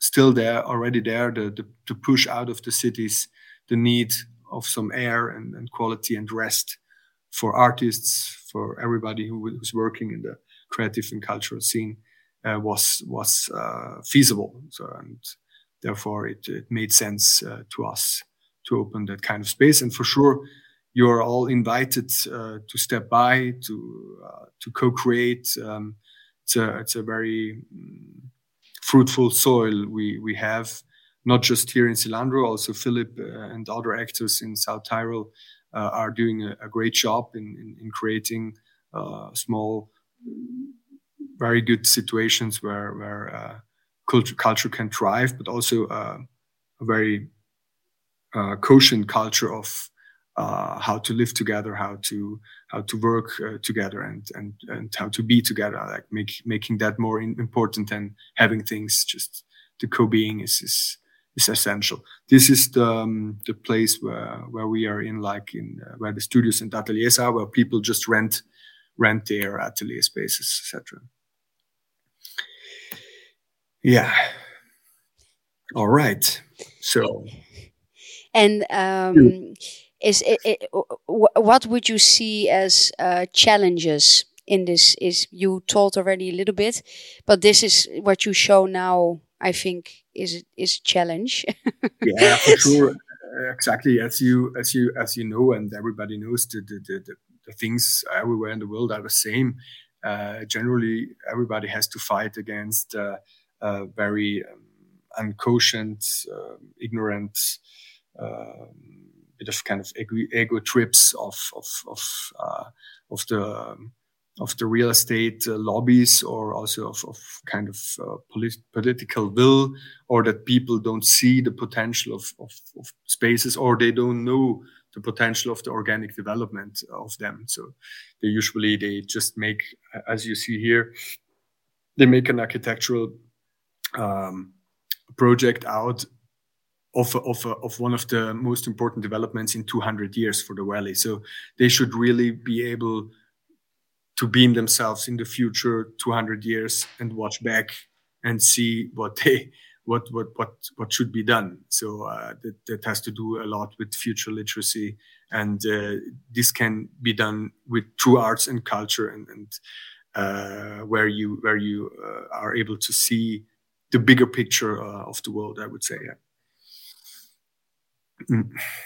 still there, already there, the, the, to push out of the cities the need of some air and, and quality and rest for artists, for everybody who who's working in the creative and cultural scene, uh, was was uh, feasible. So, and therefore it, it made sense uh, to us to open that kind of space. And for sure, you're all invited uh, to step by, to uh, to co-create. Um, it's a it's a very um, fruitful soil we we have, not just here in Silandro. Also, Philip uh, and other actors in South Tyrol uh, are doing a, a great job in in, in creating uh, small, very good situations where where uh, culture culture can thrive, but also uh, a very uh, kosher culture of uh, how to live together, how to how to work uh, together, and and and how to be together. Like make, making that more in, important than having things just the co-being is is is essential. This is the um, the place where where we are in, like in uh, where the studios and ateliers are, where people just rent rent their atelier spaces, et cetera. Yeah. All right. So. And um, is it, it, what would you see as uh, challenges in this? Is you told already a little bit, but this is what you show now. I think is is a challenge. Yeah, for sure. Exactly, as you as you as you know, and everybody knows, the the the, the things everywhere in the world are the same. Uh, generally, everybody has to fight against uh, uh, very um, unconscient, uh, ignorant, uh, bit of kind of ego, ego trips of of of uh, of the um, of the real estate uh, lobbies, or also of, of kind of uh, polit- political will, or that people don't see the potential of, of, of spaces, or they don't know the potential of the organic development of them. So they usually, they just make, as you see here, they make an architectural um, project out of, of, of one of the most important developments in two hundred years for the valley. So they should really be able to beam themselves in the future two hundred years and watch back and see what they what what what what should be done. So uh, that that has to do a lot with future literacy, and uh, this can be done with true arts and culture, and and uh, where you where you uh, are able to see the bigger picture uh, of the world, I would say. Yeah. Mm.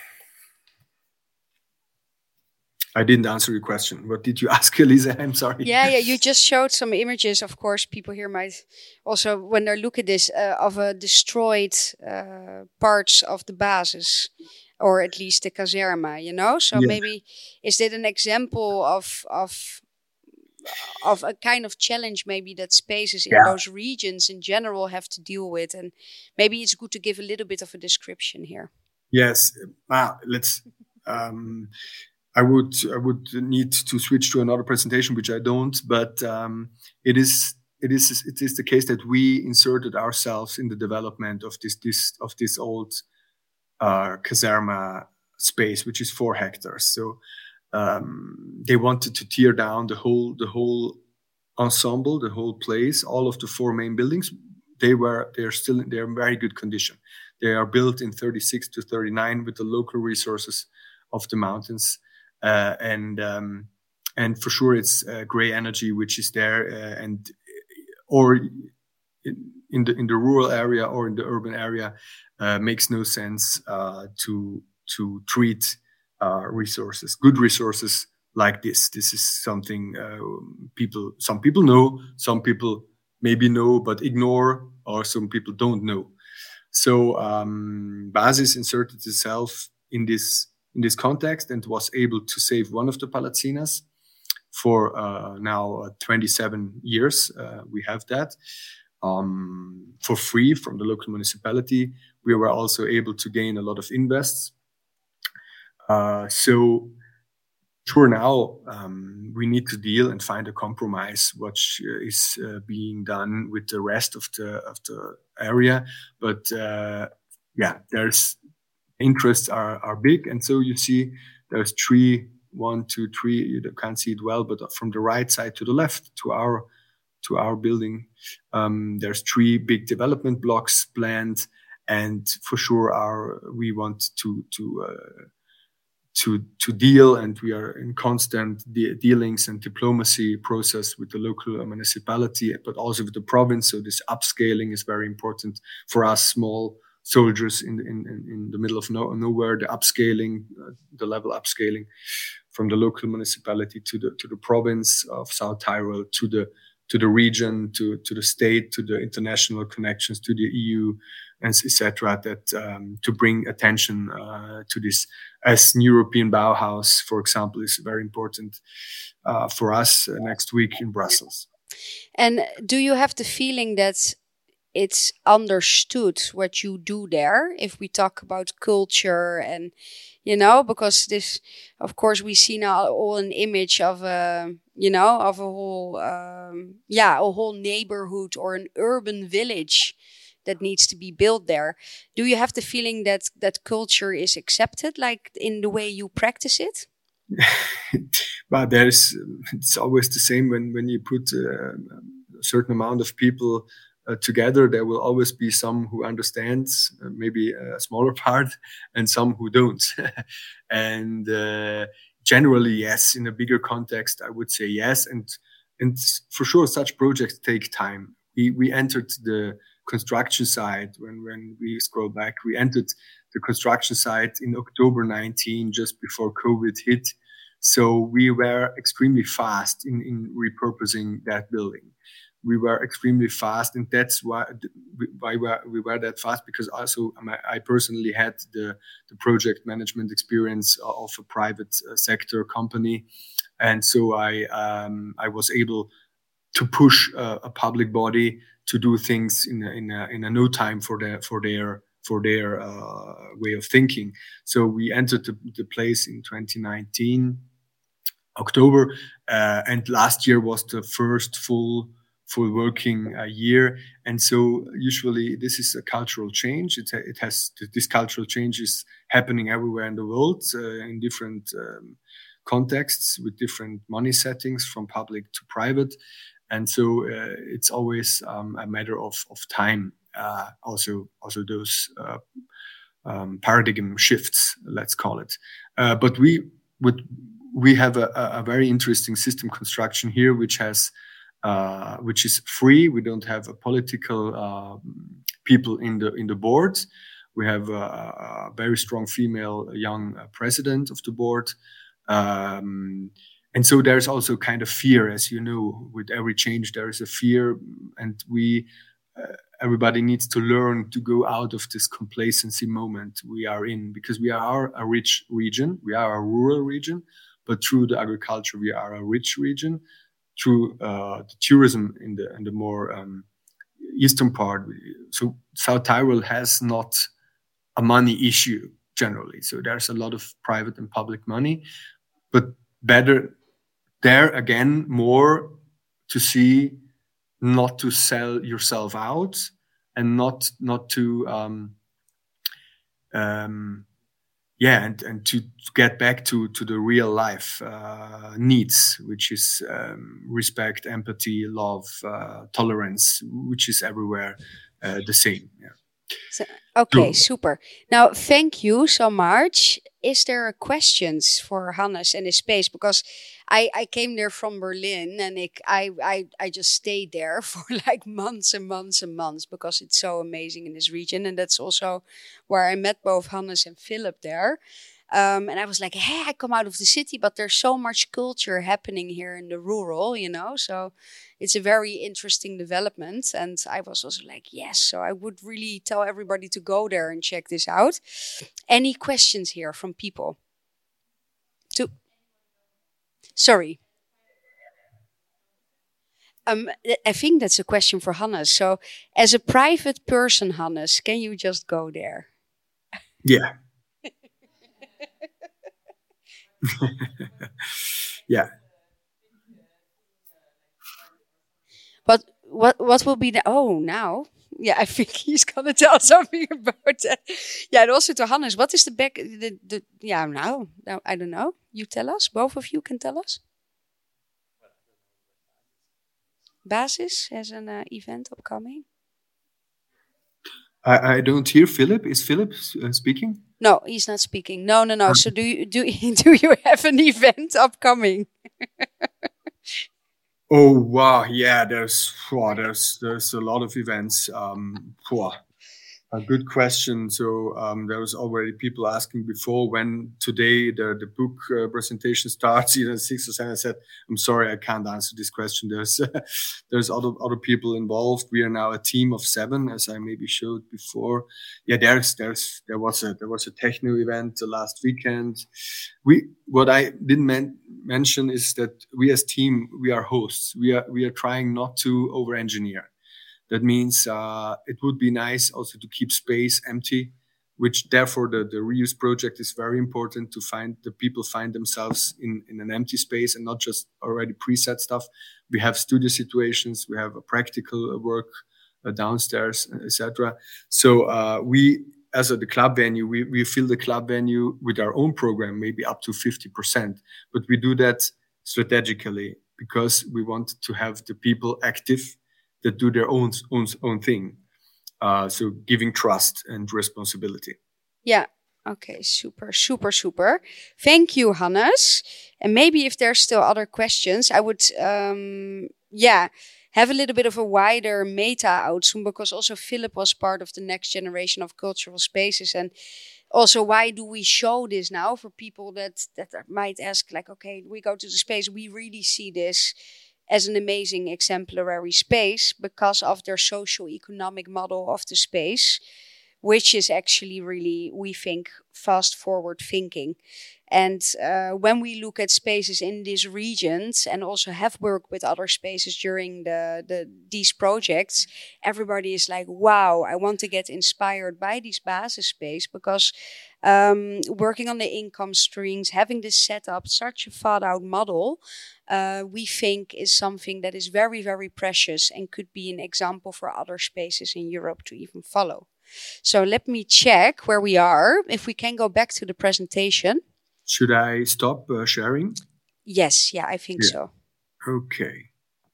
I didn't answer your question. What did you ask, Elisa? I'm sorry. Yeah, yeah. You just showed some images. Of course, people here might also, when they look at this, uh, of a destroyed uh, parts of the basis, or at least the caserma. You know, so yeah. Maybe is that an example of of of a kind of challenge, maybe that spaces in yeah. those regions in general have to deal with, and maybe it's good to give a little bit of a description here. Yes. Ah, let's. Um, I would I would need to switch to another presentation, which I don't. But um, it is it is it is the case that we inserted ourselves in the development of this this of this old uh, caserma space, which is four hectares. So um, they wanted to tear down the whole the whole ensemble, the whole place, all of the four main buildings. They were they are still in, they are in very good condition. They are built in thirty-six to thirty-nine with the local resources of the mountains. Uh, and um, and for sure it's uh, gray energy which is there, uh, and or in, in the in the rural area or in the urban area uh, makes no sense uh, to to treat uh, resources, good resources like this. This is something uh, people some people know, some people maybe know but ignore, or some people don't know. So um, Basis inserted itself in this. in this context, and was able to save one of the palazzinas for uh, now uh, twenty-seven years. Uh, we have that um, for free from the local municipality. We were also able to gain a lot of invests. Uh, so sure, now um, we need to deal and find a compromise which is uh, being done with the rest of the of the area. But uh, yeah, there's interests are, are big. And so you see there's three, one, two, three, you can't see it well, but from the right side to the left to our, to our building. Um, there's three big development blocks planned, and for sure, our we want to to uh, to to deal, and we are in constant de- dealings and diplomacy process with the local municipality, but also with the province. So this upscaling is very important for us, small soldiers in in in the middle of no, nowhere. The upscaling, uh, the level upscaling from the local municipality to the to the province of South Tyrol, to the to the region, to to the state, to the international connections, to the E U, and et cetera. That um, to bring attention uh, to this, as European Bauhaus, for example, is very important uh, for us uh, next week in Brussels. And do you have the feeling that it's understood what you do there? If we talk about culture and, you know, because this, of course, we see now all an image of a, you know, of a whole, um, yeah, a whole neighborhood or an urban village that needs to be built there. Do you have the feeling that that culture is accepted, like in the way you practice it? But there's, it's always the same when, when you put uh, a certain amount of people uh, together, there will always be some who understands, uh, maybe a smaller part, and some who don't. And uh, generally, yes, in a bigger context, I would say yes. And and for sure, such projects take time. We we entered the construction site when when we scroll back. We entered the construction site in October nineteen, just before COVID hit. So we were extremely fast in in repurposing that building. We were extremely fast, and that's why why we were that fast, because also I personally had the, the project management experience of a private sector company, and so I um, I was able to push a, a public body to do things in a, in a, in a no time for their for their for their uh, way of thinking. So we entered the, the place in twenty nineteen October, uh, and last year was the first full. full working uh, year. And so usually this is a cultural change. It, it has, this cultural change is happening everywhere in the world, uh, in different um, contexts with different money settings from public to private. And so uh, it's always um, a matter of, of time. Uh, also, also those uh, um, paradigm shifts, let's call it. Uh, but we would, we have a, a very interesting system construction here, which has Uh, which is free. We don't have a political uh, people in the in the board. We have a, a very strong female young uh, president of the board, um, and so there's also kind of fear, as you know, with every change there is a fear, and we uh, everybody needs to learn to go out of this complacency moment we are in, because we are a rich region, we are a rural region, but through the agriculture we are a rich region. Through uh, the tourism in the in the more um, eastern part, so South Tyrol has not a money issue generally. So there's a lot of private and public money, but better there again more to see not to sell yourself out and not not to um, um, yeah, and, and to get back to, to the real life uh, needs, which is um, respect, empathy, love, uh, tolerance, which is everywhere uh, the same. Yeah. So, okay, so, super. Now, thank you so much. Is there questions for Hannes and his space? Because I, I came there from Berlin, and I, I, I, I just stayed there for like months and months and months because it's so amazing in this region. And that's also where I met both Hannes and Philip there. Um, and I was like, hey, I come out of the city, but there's so much culture happening here in the rural, you know, so it's a very interesting development. And I was also like, yes, so I would really tell everybody to go there and check this out. Any questions here from people? To Sorry. Um, I think that's a question for Hannes. So as a private person, Hannes, can you just go there? Yeah. Yeah. But what what will be the oh now? Yeah, I think he's gonna tell something about that. Yeah, and also to Hannes, what is the back the, the yeah now? Now I don't know. You tell us. Both of you can tell us. Basis has an uh, event upcoming? I, I don't hear Philip. Is Philip uh, speaking? No, he's not speaking. No, no, no. So do you do do you have an event upcoming? Oh wow, yeah. There's wow, there's there's a lot of events. Um, wow. A good question. So um, there was already people asking before when today the the book uh, presentation starts, either six or seven. I said, I'm sorry, I can't answer this question. There's uh, there's other other people involved. We are now a team of seven, as I maybe showed before. Yeah, there's there's there was a there was a techno event uh, last weekend. We what I didn't men- mention is that we as team we are hosts. We are we are trying not to over engineer. That means uh, it would be nice also to keep space empty, which therefore the, the reuse project is very important to find the people find themselves in, in an empty space and not just already preset stuff. We have studio situations, we have a practical work uh, downstairs, et cetera. So uh, we, as a, the club venue, we, we fill the club venue with our own program, maybe up to fifty percent. But we do that strategically because we want to have the people active that do their own own own thing. Uh, so giving trust and responsibility. Yeah. Okay. Super, super, super. Thank you, Hannes. And maybe if there's still other questions, I would, um, yeah, have a little bit of a wider meta outzoom, because also Philip was part of the next generation of cultural spaces. And also, why do we show this now for people that, that might ask, like, okay, we go to the space, we really see this as an amazing exemplary space because of their socio-economic model of the space, which is actually really, we think, fast forward thinking. And uh, when we look at spaces in these regions and also have worked with other spaces during the, the these projects, everybody is like, wow, I want to get inspired by this basis space because um, working on the income streams, having this set up, such a thought out model, uh, we think is something that is very, very precious and could be an example for other spaces in Europe to even follow. So let me check where we are. If we can go back to the presentation. Should I stop uh, sharing? Yes, yeah, I think yeah. so. Okay.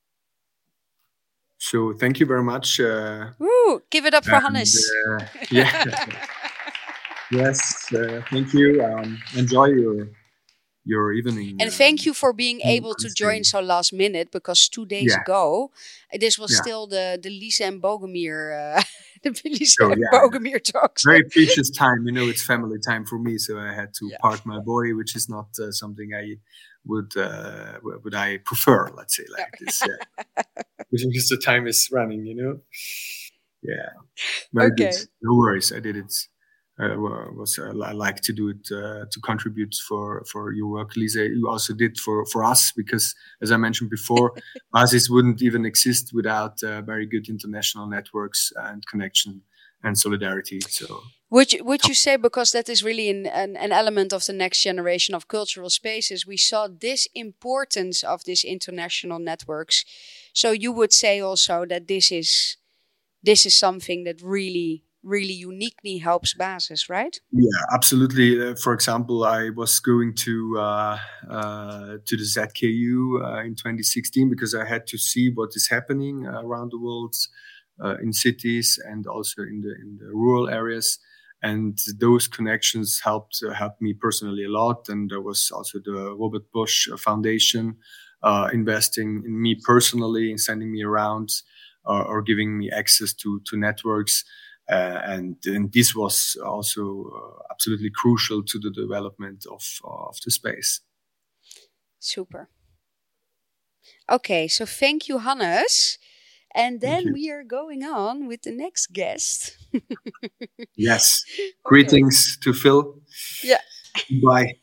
So thank you very much. Uh, Woo, give it up for and, Hannes. Uh, yeah. Yes, uh, thank you. Um, enjoy your your evening. And thank uh, you for being able to join so last minute, because two days yeah. ago, this was yeah. still the, the Lisa and Bogomir uh, the Lisa so, and yeah. Bogomir talks. Very precious time. You know, it's family time for me, so I had to yeah. park my boy, which is not uh, something I would uh, would I prefer. Let's say like yeah. this, yeah. Because the time is running. You know. Yeah. Very okay. good. No worries. I did it. Uh, was uh, I like to do it uh, to contribute for, for your work, Lisa. You also did for, for us because, as I mentioned before, Basis wouldn't even exist without uh, very good international networks and connection and solidarity. So, would you, would you say, because that is really an, an, an element of the next generation of cultural spaces, we saw this importance of these international networks. So you would say also that this is this is something that really. really uniquely helps Basis, right? Yeah, absolutely. Uh, for example, I was going to uh, uh, to the Z K U uh, in twenty sixteen because I had to see what is happening uh, around the world uh, in cities and also in the in the rural areas. And those connections helped uh, helped me personally a lot. And there was also the Robert Bosch Foundation uh, investing in me personally and sending me around uh, or giving me access to to networks. Uh, and, and this was also uh, absolutely crucial to the development of, uh, of the space. Super. Okay, so thank you, Hannes. And then we are going on with the next guest. Yes. Okay. Greetings to Phil. Yeah. Bye.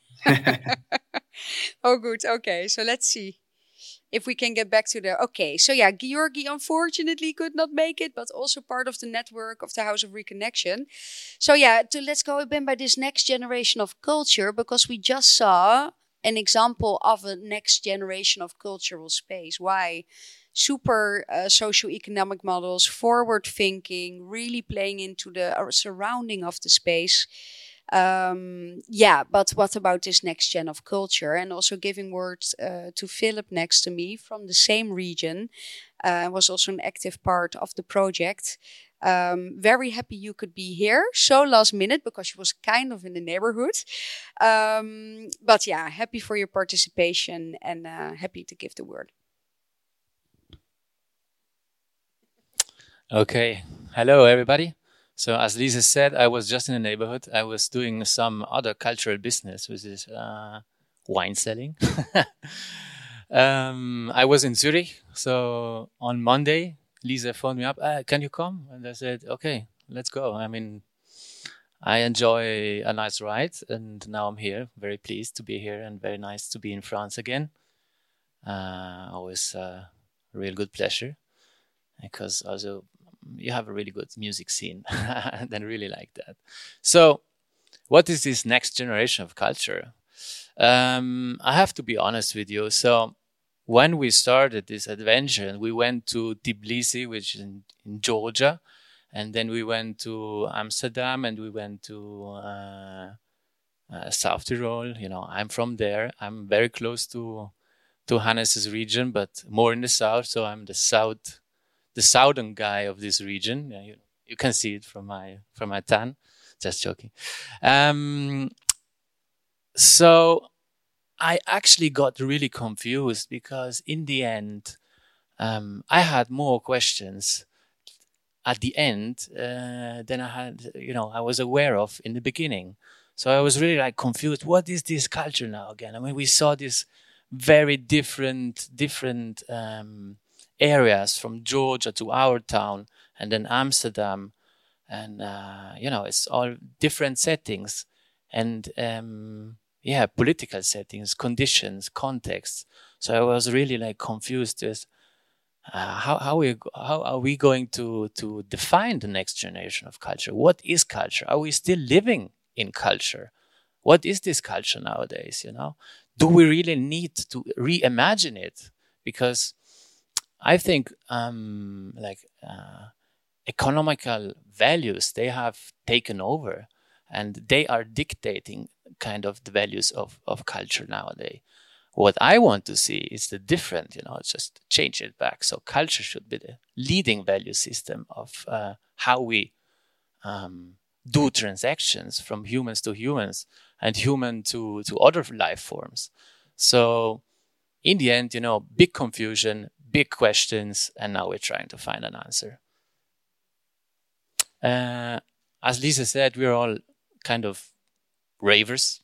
Oh, good. Okay, so let's see. If we can get back to the... Okay, so yeah, Georgi unfortunately could not make it, but also part of the network of the House of Reconnection. So yeah, to, let's go again by this next generation of culture, because we just saw an example of a next generation of cultural space. Why? Super uh, socio-economic models, forward thinking, really playing into the uh, surrounding of the space. Um, yeah, but what about this next gen of culture? And also giving words uh, to Philip next to me from the same region. uh, was also an active part of the project. Um, very happy you could be here so last minute because she was kind of in the neighborhood. Um, but yeah, happy for your participation and uh, happy to give the word. Okay, hello everybody. So as Lisa said, I was just in the neighborhood. I was doing some other cultural business, which is uh, wine selling. um, I was in Zurich. So on Monday, Lisa phoned me up. Ah, can you come? And I said, okay, let's go. I mean, I enjoy a nice ride. And now I'm here, very pleased to be here and very nice to be in France again. Uh, always a real good pleasure because also you have a really good music scene and I really like that. So what is this next generation of culture? Um, I have to be honest with you. So when we started this adventure and we went to Tbilisi, which is in, in Georgia, and then we went to Amsterdam and we went to uh, uh, South Tyrol. You know, I'm from there. I'm very close to to Hannes's region, but more in the south. So I'm the south the southern guy of this region. Yeah, you, you can see it from my from my tan. Just joking. Um, so I actually got really confused because in the end, um, I had more questions at the end uh, than I had, you know, I was aware of in the beginning. So I was really like confused. What is this culture now again? I mean, we saw this very different, different. Um, areas from Georgia to our town and then Amsterdam and uh, you know it's all different settings and um, yeah political settings, conditions, contexts. So I was really like confused with uh, how how we how are we going to to define the next generation of culture? What is culture? Are we still living in culture? What is this culture nowadays? You know, do we really need to reimagine it? Because I think um, like uh, economical values, they have taken over and they are dictating kind of the values of, of culture nowadays. What I want to see is the different, you know, just change it back. So culture should be the leading value system of uh, how we um, do transactions from humans to humans and human to, to other life forms. So in the end, you know, big confusion, big questions, and now we're trying to find an answer. Uh, as Lisa said, we're all kind of ravers.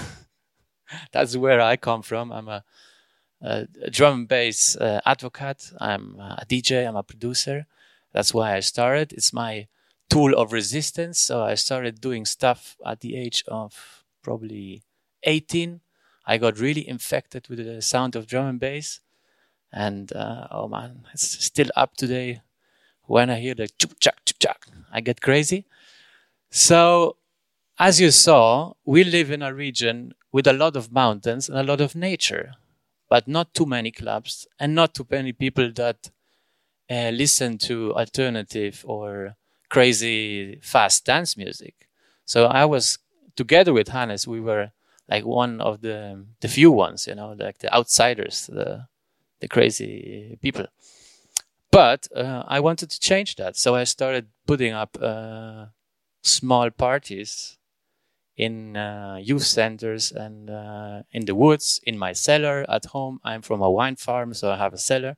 That's where I come from. I'm a, a, a drum and bass uh, advocate. I'm a D J. I'm a producer. That's why I started. It's my tool of resistance. So I started doing stuff at the age of probably eighteen. I got really infected with the sound of drum and bass. And, uh, oh man, it's still up today. When I hear the chuk-chak, chuk-chak, I get crazy. So, as you saw, we live in a region with a lot of mountains and a lot of nature, but not too many clubs and not too many people that uh, listen to alternative or crazy fast dance music. So I was, together with Hannes, we were like one of the the few ones, you know, like the outsiders, the the crazy people. But uh, I wanted to change that. So I started putting up uh, small parties in uh, youth centers and uh, in the woods, in my cellar at home. I'm from a wine farm, so I have a cellar.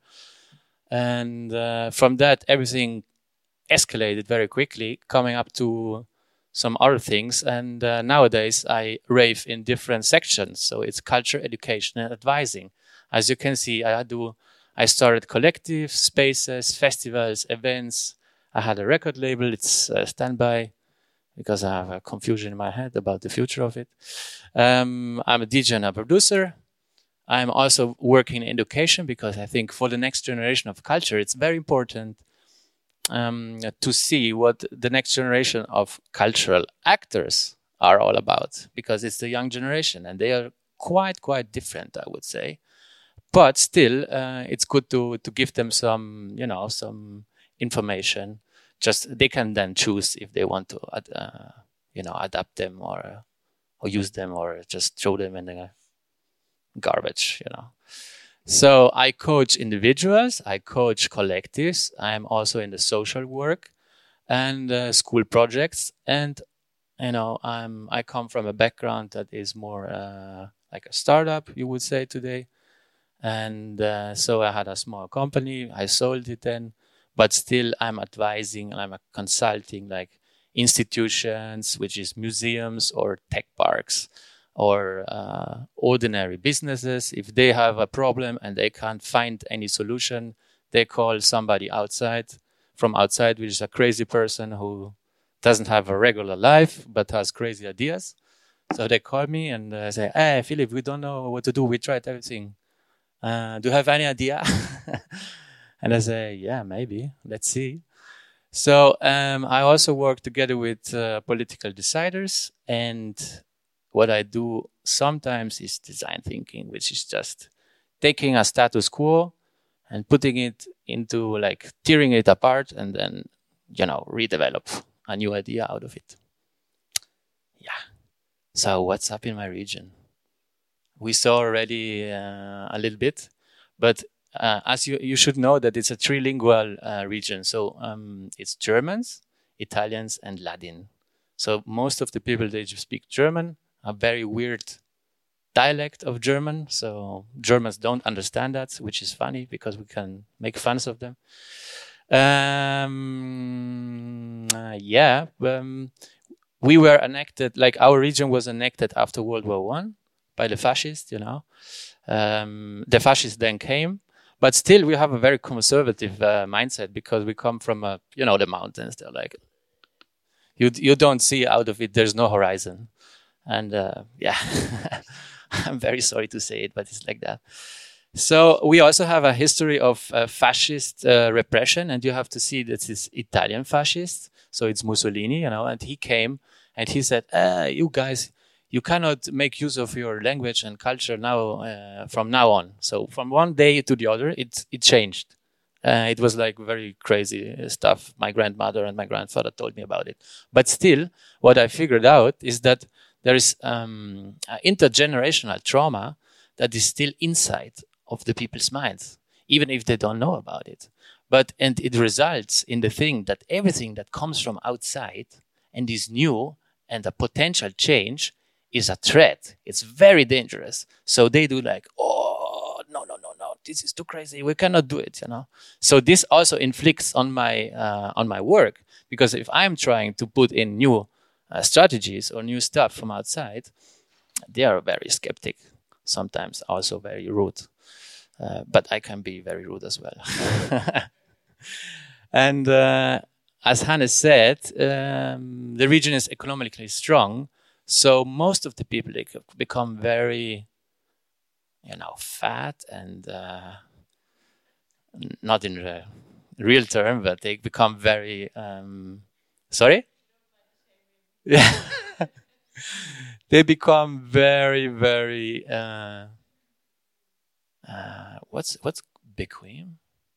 And uh, from that, everything escalated very quickly, coming up to some other things. And uh, nowadays, I rave in different sections. So it's culture, education, and advising. As you can see, I do. I started collectives, spaces, festivals, events. I had a record label. It's uh, standby because I have a confusion in my head about the future of it. Um, I'm a D J and a producer. I'm also working in education because I think for the next generation of culture, it's very important um, to see what the next generation of cultural actors are all about, because it's the young generation and they are quite, quite different, I would say. But still, uh, it's good to to give them some, you know, some information. Just they can then choose if they want to, uh, you know, adapt them or or use them or just throw them in the garbage, you know. So I coach individuals, I coach collectives. I'm also in the social work and uh, school projects. And, you know, I'm, I come from a background that is more uh, like a startup, you would say today. And uh, so I had a small company. I sold it then, but still I'm advising and I'm consulting like institutions, which is museums or tech parks, or uh, ordinary businesses. If they have a problem and they can't find any solution, they call somebody outside, from outside, which is a crazy person who doesn't have a regular life, but has crazy ideas. So they call me and uh, say, hey, Philip, we don't know what to do. We tried everything. Uh, do you have any idea? And I say, yeah, maybe. Let's see. So um, I also work together with uh, political deciders, and what I do sometimes is design thinking, which is just taking a status quo and putting it into like tearing it apart and then, you know, redevelop a new idea out of it. Yeah. So what's up in my region? We saw already uh, a little bit, but uh, as you, you should know that it's a trilingual uh, region. So um, it's Germans, Italians, and Latin. So most of the people, they just speak German, a very weird dialect of German. So Germans don't understand that, which is funny because we can make fun of them. Um, uh, yeah, um, we were annexed, like our region was annexed after World War One by the fascists, you know. Um, the fascists then came, but still we have a very conservative uh, mindset because we come from, uh, you know, the mountains. They're like, you, you don't see out of it, there's no horizon. And uh, yeah, I'm very sorry to say it, but it's like that. So we also have a history of uh, fascist uh, repression, and you have to see that it's Italian fascist. So it's Mussolini, you know, and he came and he said, uh, you guys, you cannot make use of your language and culture now uh, from now on. So from one day to the other, it, it changed. Uh, it was like very crazy stuff. My grandmother and my grandfather told me about it. But still, what I figured out is that there is um, intergenerational trauma that is still inside of the people's minds, even if they don't know about it. But, and it results in the thing that everything that comes from outside and is new and a potential change is a threat. It's very dangerous. So they do like, oh, no, no, no, no, this is too crazy. We cannot do it, you know. So this also inflicts on my, uh, on my work, because if I'm trying to put in new Uh, strategies or new stuff from outside, they are very skeptic, sometimes also very rude. Uh, but I can be very rude as well. And uh, as Hannes said, um, the region is economically strong, so most of the people, they become very, you know, fat and uh, not in the real term, but they become very, um, sorry? Yeah, they become very, very. Uh, uh, what's what's bequem?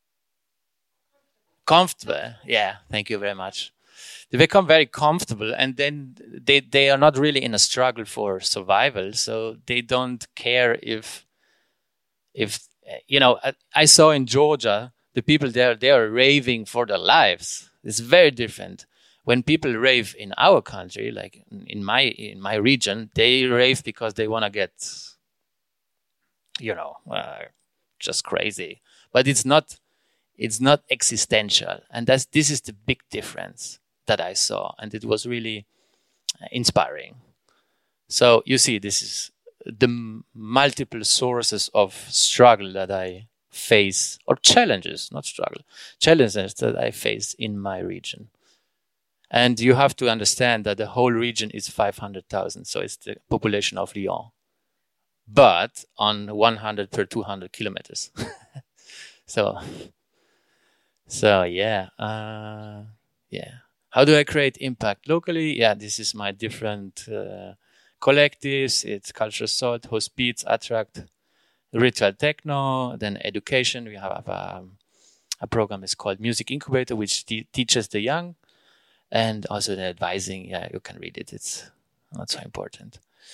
Comfortable. Yeah, thank you very much. They become very comfortable, and then they they are not really in a struggle for survival. So they don't care if if you know. I, I saw in Georgia the people there, they are raving for their lives. It's very different. When people rave in our country, like in my in my region, they rave because they want to get, you know, uh, just crazy. But it's not, it's not existential, and that's this is the big difference that I saw, and it was really inspiring. So you see, this is the m- multiple sources of struggle that I face, or challenges, not struggle, challenges that I face in my region. And you have to understand that the whole region is five hundred thousand, so it's the population of Lyon, but on one hundred per two hundred kilometers. so, so yeah, uh, yeah. How do I create impact locally? Yeah, this is my different uh, collectives. It's Culture Salt, Hospiz, Attract, Ritual Techno, then education. We have um, a program is called Music Incubator, which te- teaches the young. And also the advising, yeah, you can read it. It's not so important.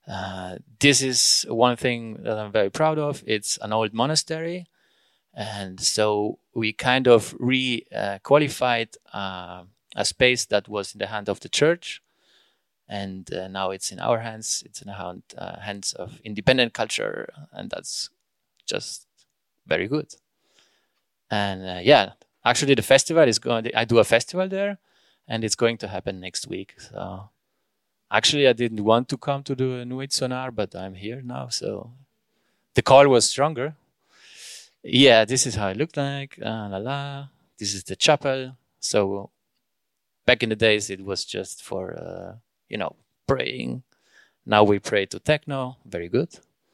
Uh, this is one thing that I'm very proud of. It's an old monastery. And so we kind of re-qualified uh, uh, a space that was in the hand of the church. And uh, now it's in our hands. It's in the hand, uh, hands of independent culture. And that's just very good. And uh, yeah, actually the festival is going, I do a festival there and it's going to happen next week. So actually I didn't want to come to the Nuit Sonar, but I'm here now. So the call was stronger. Yeah, this is how it looked like. Uh, la la. This is the chapel. So back in the days, it was just for, uh, you know, praying. Now we pray to techno. Very good.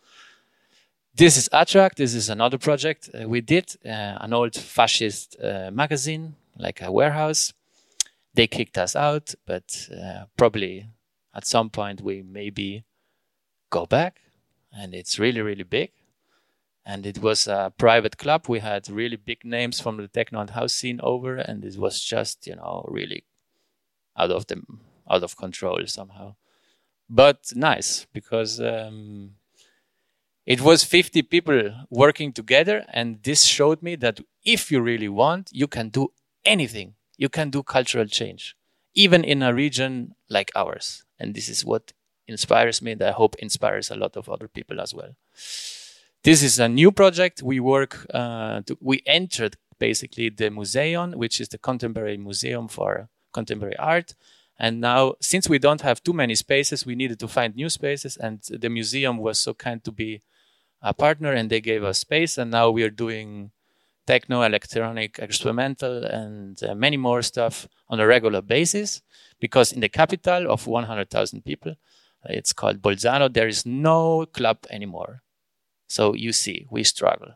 This is Attract. This is another project uh, we did. Uh, an old fascist uh, magazine, like a warehouse. They kicked us out, but uh, probably at some point we maybe go back. And it's really, really big. And it was a private club. We had really big names from the techno and house scene over, and it was just, you know, really out of the out of control somehow. But nice, because um, it was fifty people working together, and this showed me that if you really want, you can do anything. You can do cultural change, even in a region like ours. And this is what inspires me, and I hope inspires a lot of other people as well. This is a new project. We work, uh, to, we entered basically the Museum, which is the contemporary museum for contemporary art. And now, since we don't have too many spaces, we needed to find new spaces. And the museum was so kind to be a partner, and they gave us space. And now we are doing techno, electronic, experimental, and uh, many more stuff on a regular basis. Because in the capital of one hundred thousand people, it's called Bolzano, there is no club anymore. So you see, we struggle.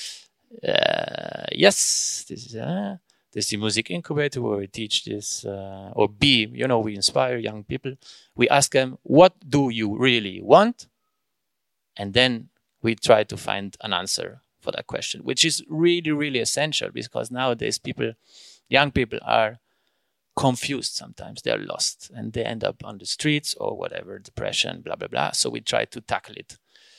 Uh, yes, this is, uh, this is the music incubator where we teach this, uh, or B, you know, we inspire young people. We ask them, what do you really want? And then we try to find an answer for that question, which is really, really essential because nowadays people, young people are confused sometimes. They're lost and they end up on the streets or whatever, depression, blah, blah, blah. So we try to tackle it.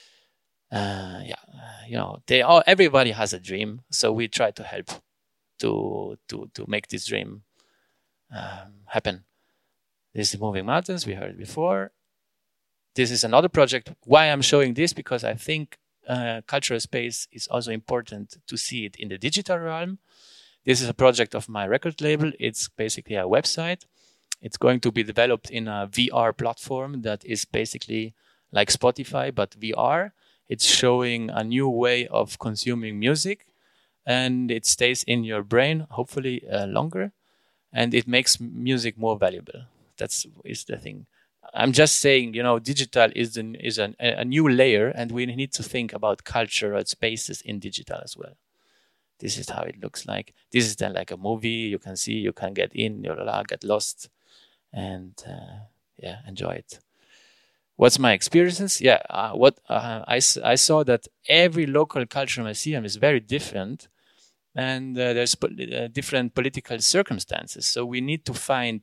Uh, yeah, you know, they all, everybody has a dream, so we try to help to to to make this dream um, happen. This is Moving Mountains, we heard before. This is another project. Why I'm showing this? Because I think uh, cultural space is also important to see it in the digital realm. This is a project of my record label. It's basically a website. It's going to be developed in a V R platform that is basically like Spotify, but V R. It's showing a new way of consuming music, and it stays in your brain, hopefully uh, longer, and it makes music more valuable. That's is the thing. I'm just saying, you know, digital is an, is an, a new layer, and we need to think about cultural spaces in digital as well. This is how it looks like. This is then like a movie. You can see, you can get in, you get lost, and uh, yeah, enjoy it. What's my experiences? Yeah, uh, what uh, I, I saw that every local cultural museum is very different, and uh, there's po- uh, different political circumstances. So we need to find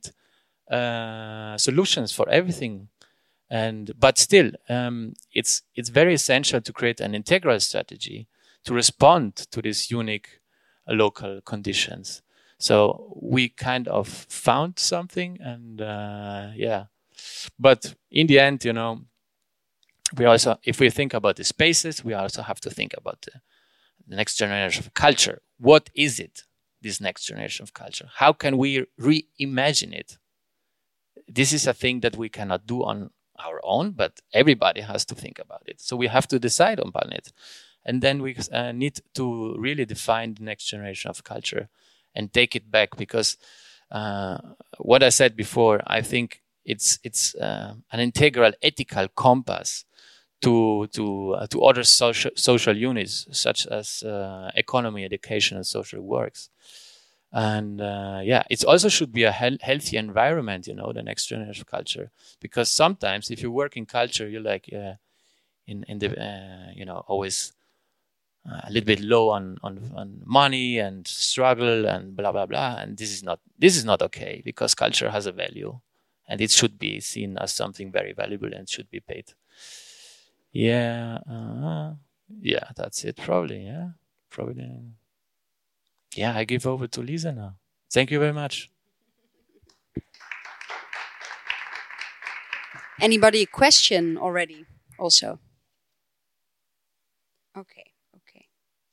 uh, solutions for everything. And but still, um, it's it's very essential to create an integral strategy to respond to these unique uh, local conditions. So we kind of found something, and uh, yeah. But in the end, you know, we also, if we think about the spaces, we also have to think about the, the next generation of culture. What is it, this next generation of culture? How can we reimagine it? This is a thing that we cannot do on our own, but everybody has to think about it. So we have to decide upon it. And then we uh, need to really define the next generation of culture and take it back, because uh, what I said before, I think It's it's uh, an integral ethical compass to to uh, to other social social units such as uh, economy, education, and social works. And uh, yeah, it also should be a he- healthy environment. You know, the next generation of culture, because sometimes if you work in culture, you're like uh, in in the uh, you know always uh, a little bit low on, on on money and struggle and blah blah blah. And this is not this is not okay, because culture has a value. And it should be seen as something very valuable and should be paid Yeah, uh, yeah, that's it probably. Yeah, probably. Yeah, I give over to Lisa now. Thank you very much. Anybody a question already? Also. Okay. Okay.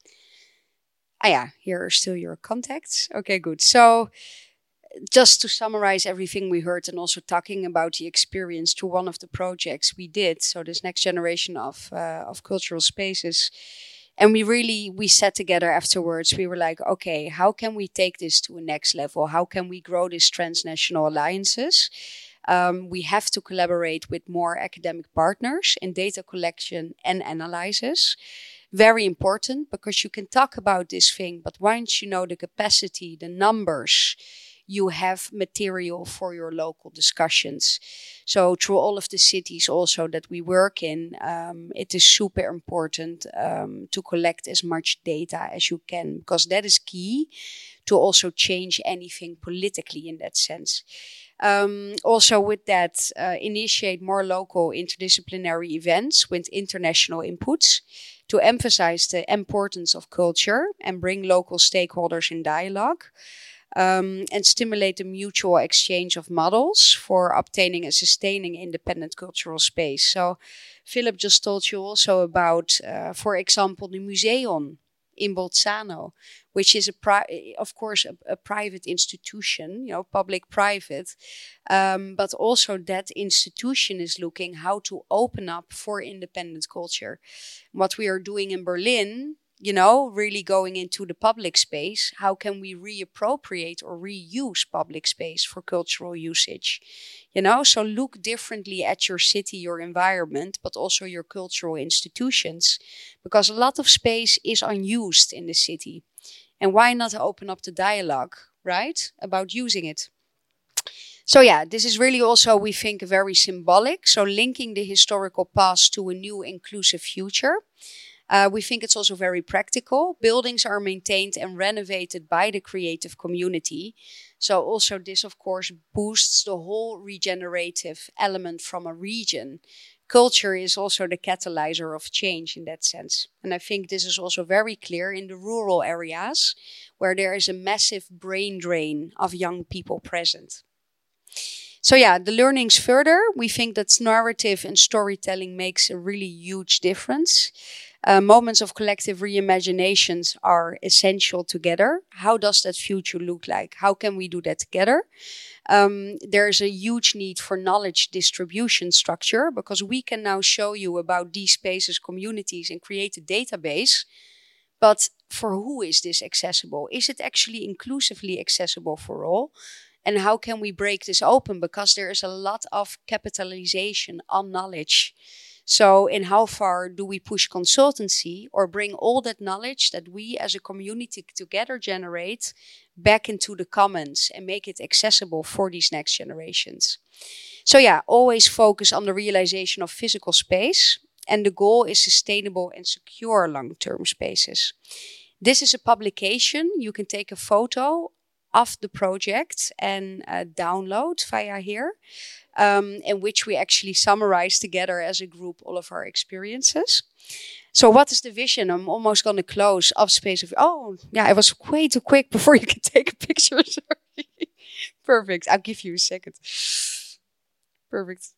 Ah, yeah. Here are still your contacts. Okay, good. So, just to summarize everything we heard, and also talking about the experience to one of the projects we did, so this next generation of uh, of cultural spaces, and we really we sat together afterwards. We were like, okay, how can we take this to a next level? How can we grow these transnational alliances? Um, we have to collaborate with more academic partners in data collection and analysis. Very important, because you can talk about this thing, but once you know the capacity, the numbers, you have material for your local discussions. So through all of the cities also that we work in, um, it is super important um, to collect as much data as you can, because that is key to also change anything politically in that sense. Um, also with that, uh, initiate more local interdisciplinary events with international inputs to emphasize the importance of culture and bring local stakeholders in dialogue. Um, and stimulate the mutual exchange of models for obtaining and sustaining independent cultural space. So Philip just told you also about, uh, for example, the Museum in Bolzano, which is, a pri- of course, a, a private institution, you know, public-private. Um, but also that institution is looking how to open up for independent culture. What we are doing in Berlin, you know, really going into the public space, how can we reappropriate or reuse public space for cultural usage? You know, so look differently at your city, your environment, but also your cultural institutions, because a lot of space is unused in the city. And why not open up the dialogue, right, about using it? So yeah, this is really also, we think, very symbolic. So linking the historical past to a new inclusive future. Uh, we think it's also very practical. Buildings are maintained and renovated by the creative community. So also this, of course, boosts the whole regenerative element from a region. Culture is also the catalyzer of change in that sense. And I think this is also very clear in the rural areas where there is a massive brain drain of young people present. So yeah, the learnings further, we think that narrative and storytelling makes a really huge difference. Uh, moments of collective reimaginations are essential together. How does that future look like? How can we do that together? Um, there's a huge need for knowledge distribution structure, because we can now show you about these spaces, communities, and create a database. But for who is this accessible? Is it actually inclusively accessible for all? And how can we break this open? Because there is a lot of capitalization on knowledge. So in how far do we push consultancy or bring all that knowledge that we as a community together generate back into the commons and make it accessible for these next generations? So yeah, always focus on the realization of physical space. And the goal is sustainable and secure long-term spaces. This is a publication. You can take a photo of the project and uh, download via here, um, in which we actually summarize together as a group all of our experiences. So what is the vision? I'm almost going to close of Space of... Oh, yeah, I was way too quick before you could take a picture. Sorry. Perfect. I'll give you a second. Perfect.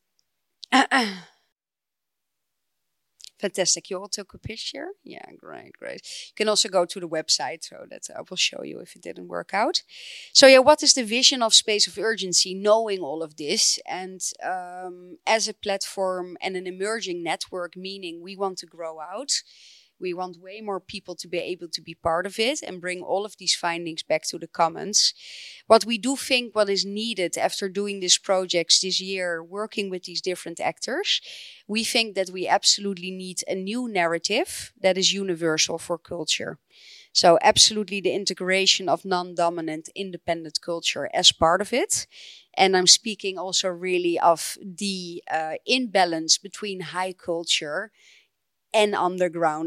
Fantastic. You all took a picture? Yeah, great, great. You can also go to the website, so that I will show you if it didn't work out. So yeah, what is the vision of Space of Urgency, knowing all of this? And um, as a platform and an emerging network, meaning we want to grow out. We want way more people to be able to be part of it and bring all of these findings back to the commons. What we do think what is needed after doing these projects this year, working with these different actors, we think that we absolutely need a new narrative that is universal for culture. So absolutely the integration of non-dominant independent culture as part of it. And I'm speaking also really of the uh, imbalance between high culture and underground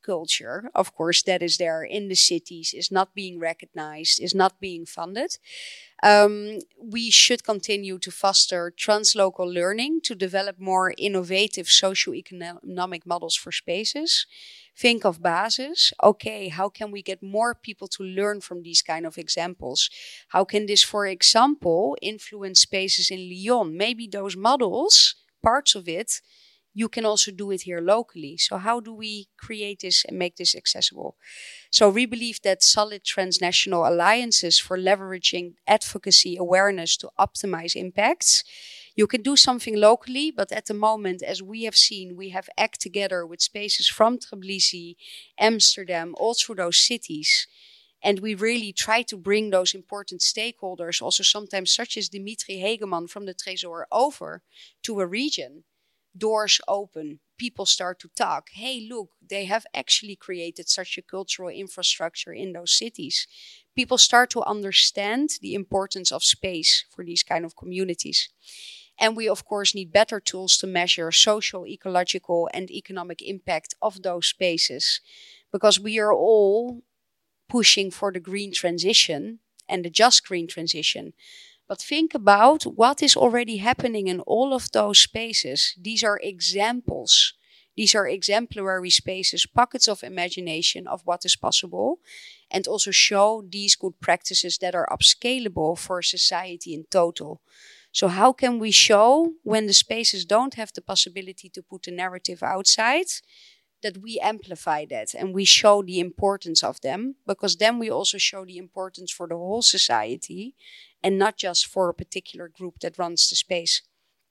culture, of course, that is there in the cities, is not being recognized, is not being funded. Um, we should continue to foster translocal learning to develop more innovative socio-economic models for spaces. Think of basis. Okay, how can we get more people to learn from these kind of examples? How can this, for example, influence spaces in Lyon? Maybe those models, parts of it, you can also do it here locally. So how do we create this and make this accessible? So we believe that solid transnational alliances for leveraging advocacy awareness to optimize impacts. You can do something locally, but at the moment, as we have seen, we have act together with spaces from Tbilisi, Amsterdam, all through those cities. And we really try to bring those important stakeholders, also sometimes such as Dimitri Hegeman from the Trésor, over to a region. Doors open, people start to talk. Hey, look, they have actually created such a cultural infrastructure in those cities. People start to understand the importance of space for these kind of communities. And we, of course, need better tools to measure social, ecological, and economic impact of those spaces. Because we are all pushing for the green transition and the just green transition. But think about what is already happening in all of those spaces. These are examples. These are exemplary spaces, pockets of imagination of what is possible, and also show these good practices that are upscalable for society in total. So how can we show, when the spaces don't have the possibility to put a narrative outside, that we amplify that and we show the importance of them, because then we also show the importance for the whole society and not just for a particular group that runs the space.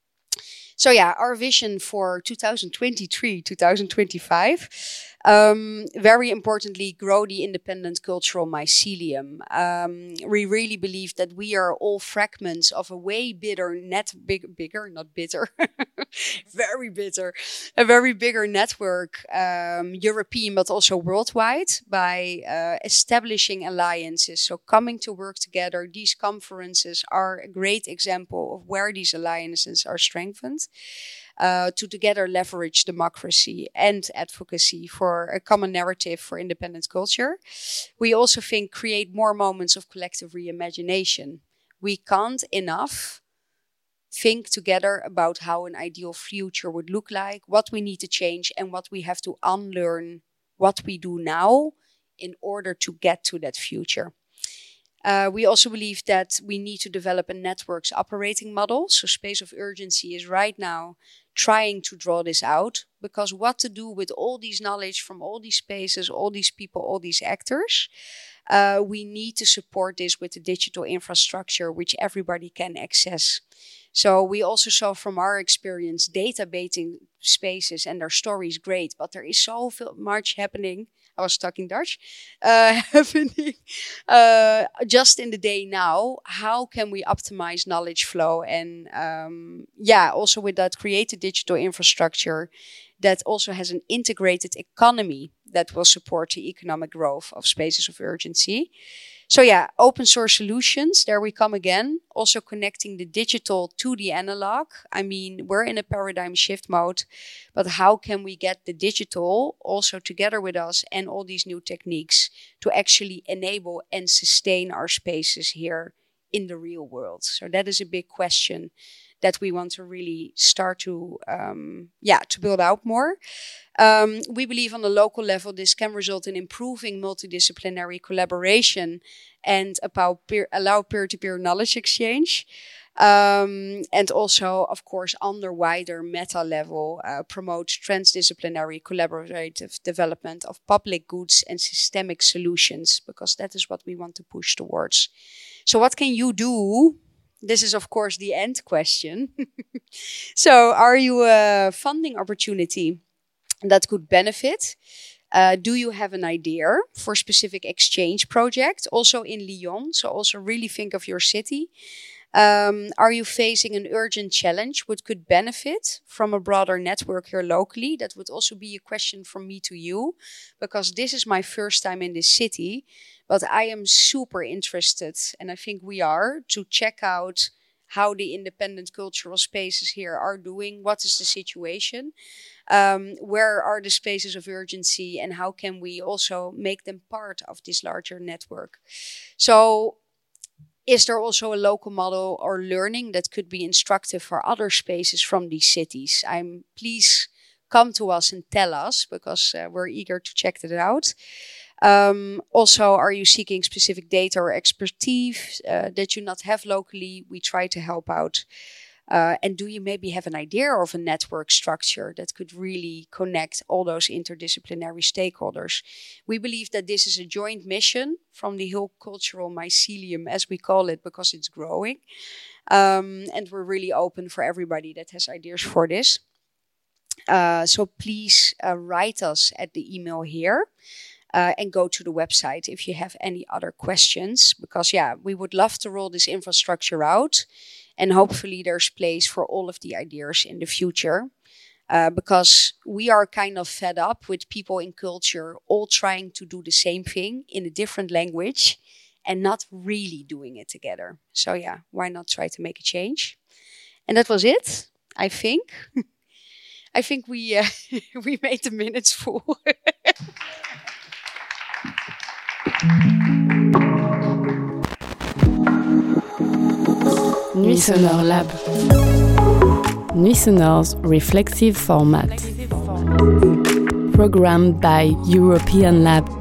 So yeah, our vision for two thousand twenty-three, two thousand twenty-five, um, very importantly, grow the independent cultural mycelium. Um, we really believe that we are all fragments of a way bigger net, big, bigger, not bitter, very bitter, a very bigger network, um, European, but also worldwide, by uh, establishing alliances. So coming to work together, these conferences are a great example of where these alliances are strengthened. Uh, to together leverage democracy and advocacy for a common narrative for independent culture. We also think create more moments of collective reimagination. We can't enough think together about how an ideal future would look like, what we need to change, and what we have to unlearn, what we do now in order to get to that future. Uh, we also believe that we need to develop a network's operating model. So Space of Urgency is right now trying to draw this out, because what to do with all these knowledge from all these spaces, all these people, all these actors, uh, we need to support this with the digital infrastructure which everybody can access. So we also saw from our experience databating spaces and their stories great, but there is so much happening. I was talking Dutch, uh, happening uh, just in the day now. How can we optimize knowledge flow? And um, yeah, also with that, create a digital infrastructure that also has an integrated economy that will support the economic growth of Spaces of Urgency. So yeah, open source solutions, there we come again. Also connecting the digital to the analog. I mean, we're in a paradigm shift mode, but how can we get the digital also together with us and all these new techniques to actually enable and sustain our spaces here in the real world? So that is a big question that we want to really start to, um, yeah, to build out more. Um, we believe on the local level, this can result in improving multidisciplinary collaboration and about peer, allow peer-to-peer knowledge exchange. Um, and also, of course, on the wider meta level, uh, promote transdisciplinary collaborative development of public goods and systemic solutions, because that is what we want to push towards. So what can you do? This is, of course, the end question. So are you a funding opportunity that could benefit? Uh, do you have an idea for specific exchange project, also in Lyon? So also really think of your city. Um, are you facing an urgent challenge which could benefit from a broader network here locally? That would also be a question from me to you, because this is my first time in this city. But I am super interested, and I think we are, to check out how the independent cultural spaces here are doing. What is the situation? Um, where are the spaces of urgency, and how can we also make them part of this larger network? So is there also a local model or learning that could be instructive for other spaces from these cities? I'm please come to us and tell us, because uh, we're eager to check that out. Um, also, are you seeking specific data or expertise uh, that you not have locally? We try to help out. Uh, and do you maybe have an idea of a network structure that could really connect all those interdisciplinary stakeholders? We believe that this is a joint mission from the whole cultural mycelium, as we call it, because it's growing. Um, and we're really open for everybody that has ideas for this. Uh, so please uh, write us at the email here. Uh, and go to the website if you have any other questions. Because, yeah, we would love to roll this infrastructure out. And hopefully there's place for all of the ideas in the future. Uh, because we are kind of fed up with people in culture all trying to do the same thing in a different language and not really doing it together. So, yeah, why not try to make a change? And that was it, I think. I think we, uh, we made the minutes full. Nuit Sonore Lab. Nuit Sonore's reflexive format. Programmed by European Lab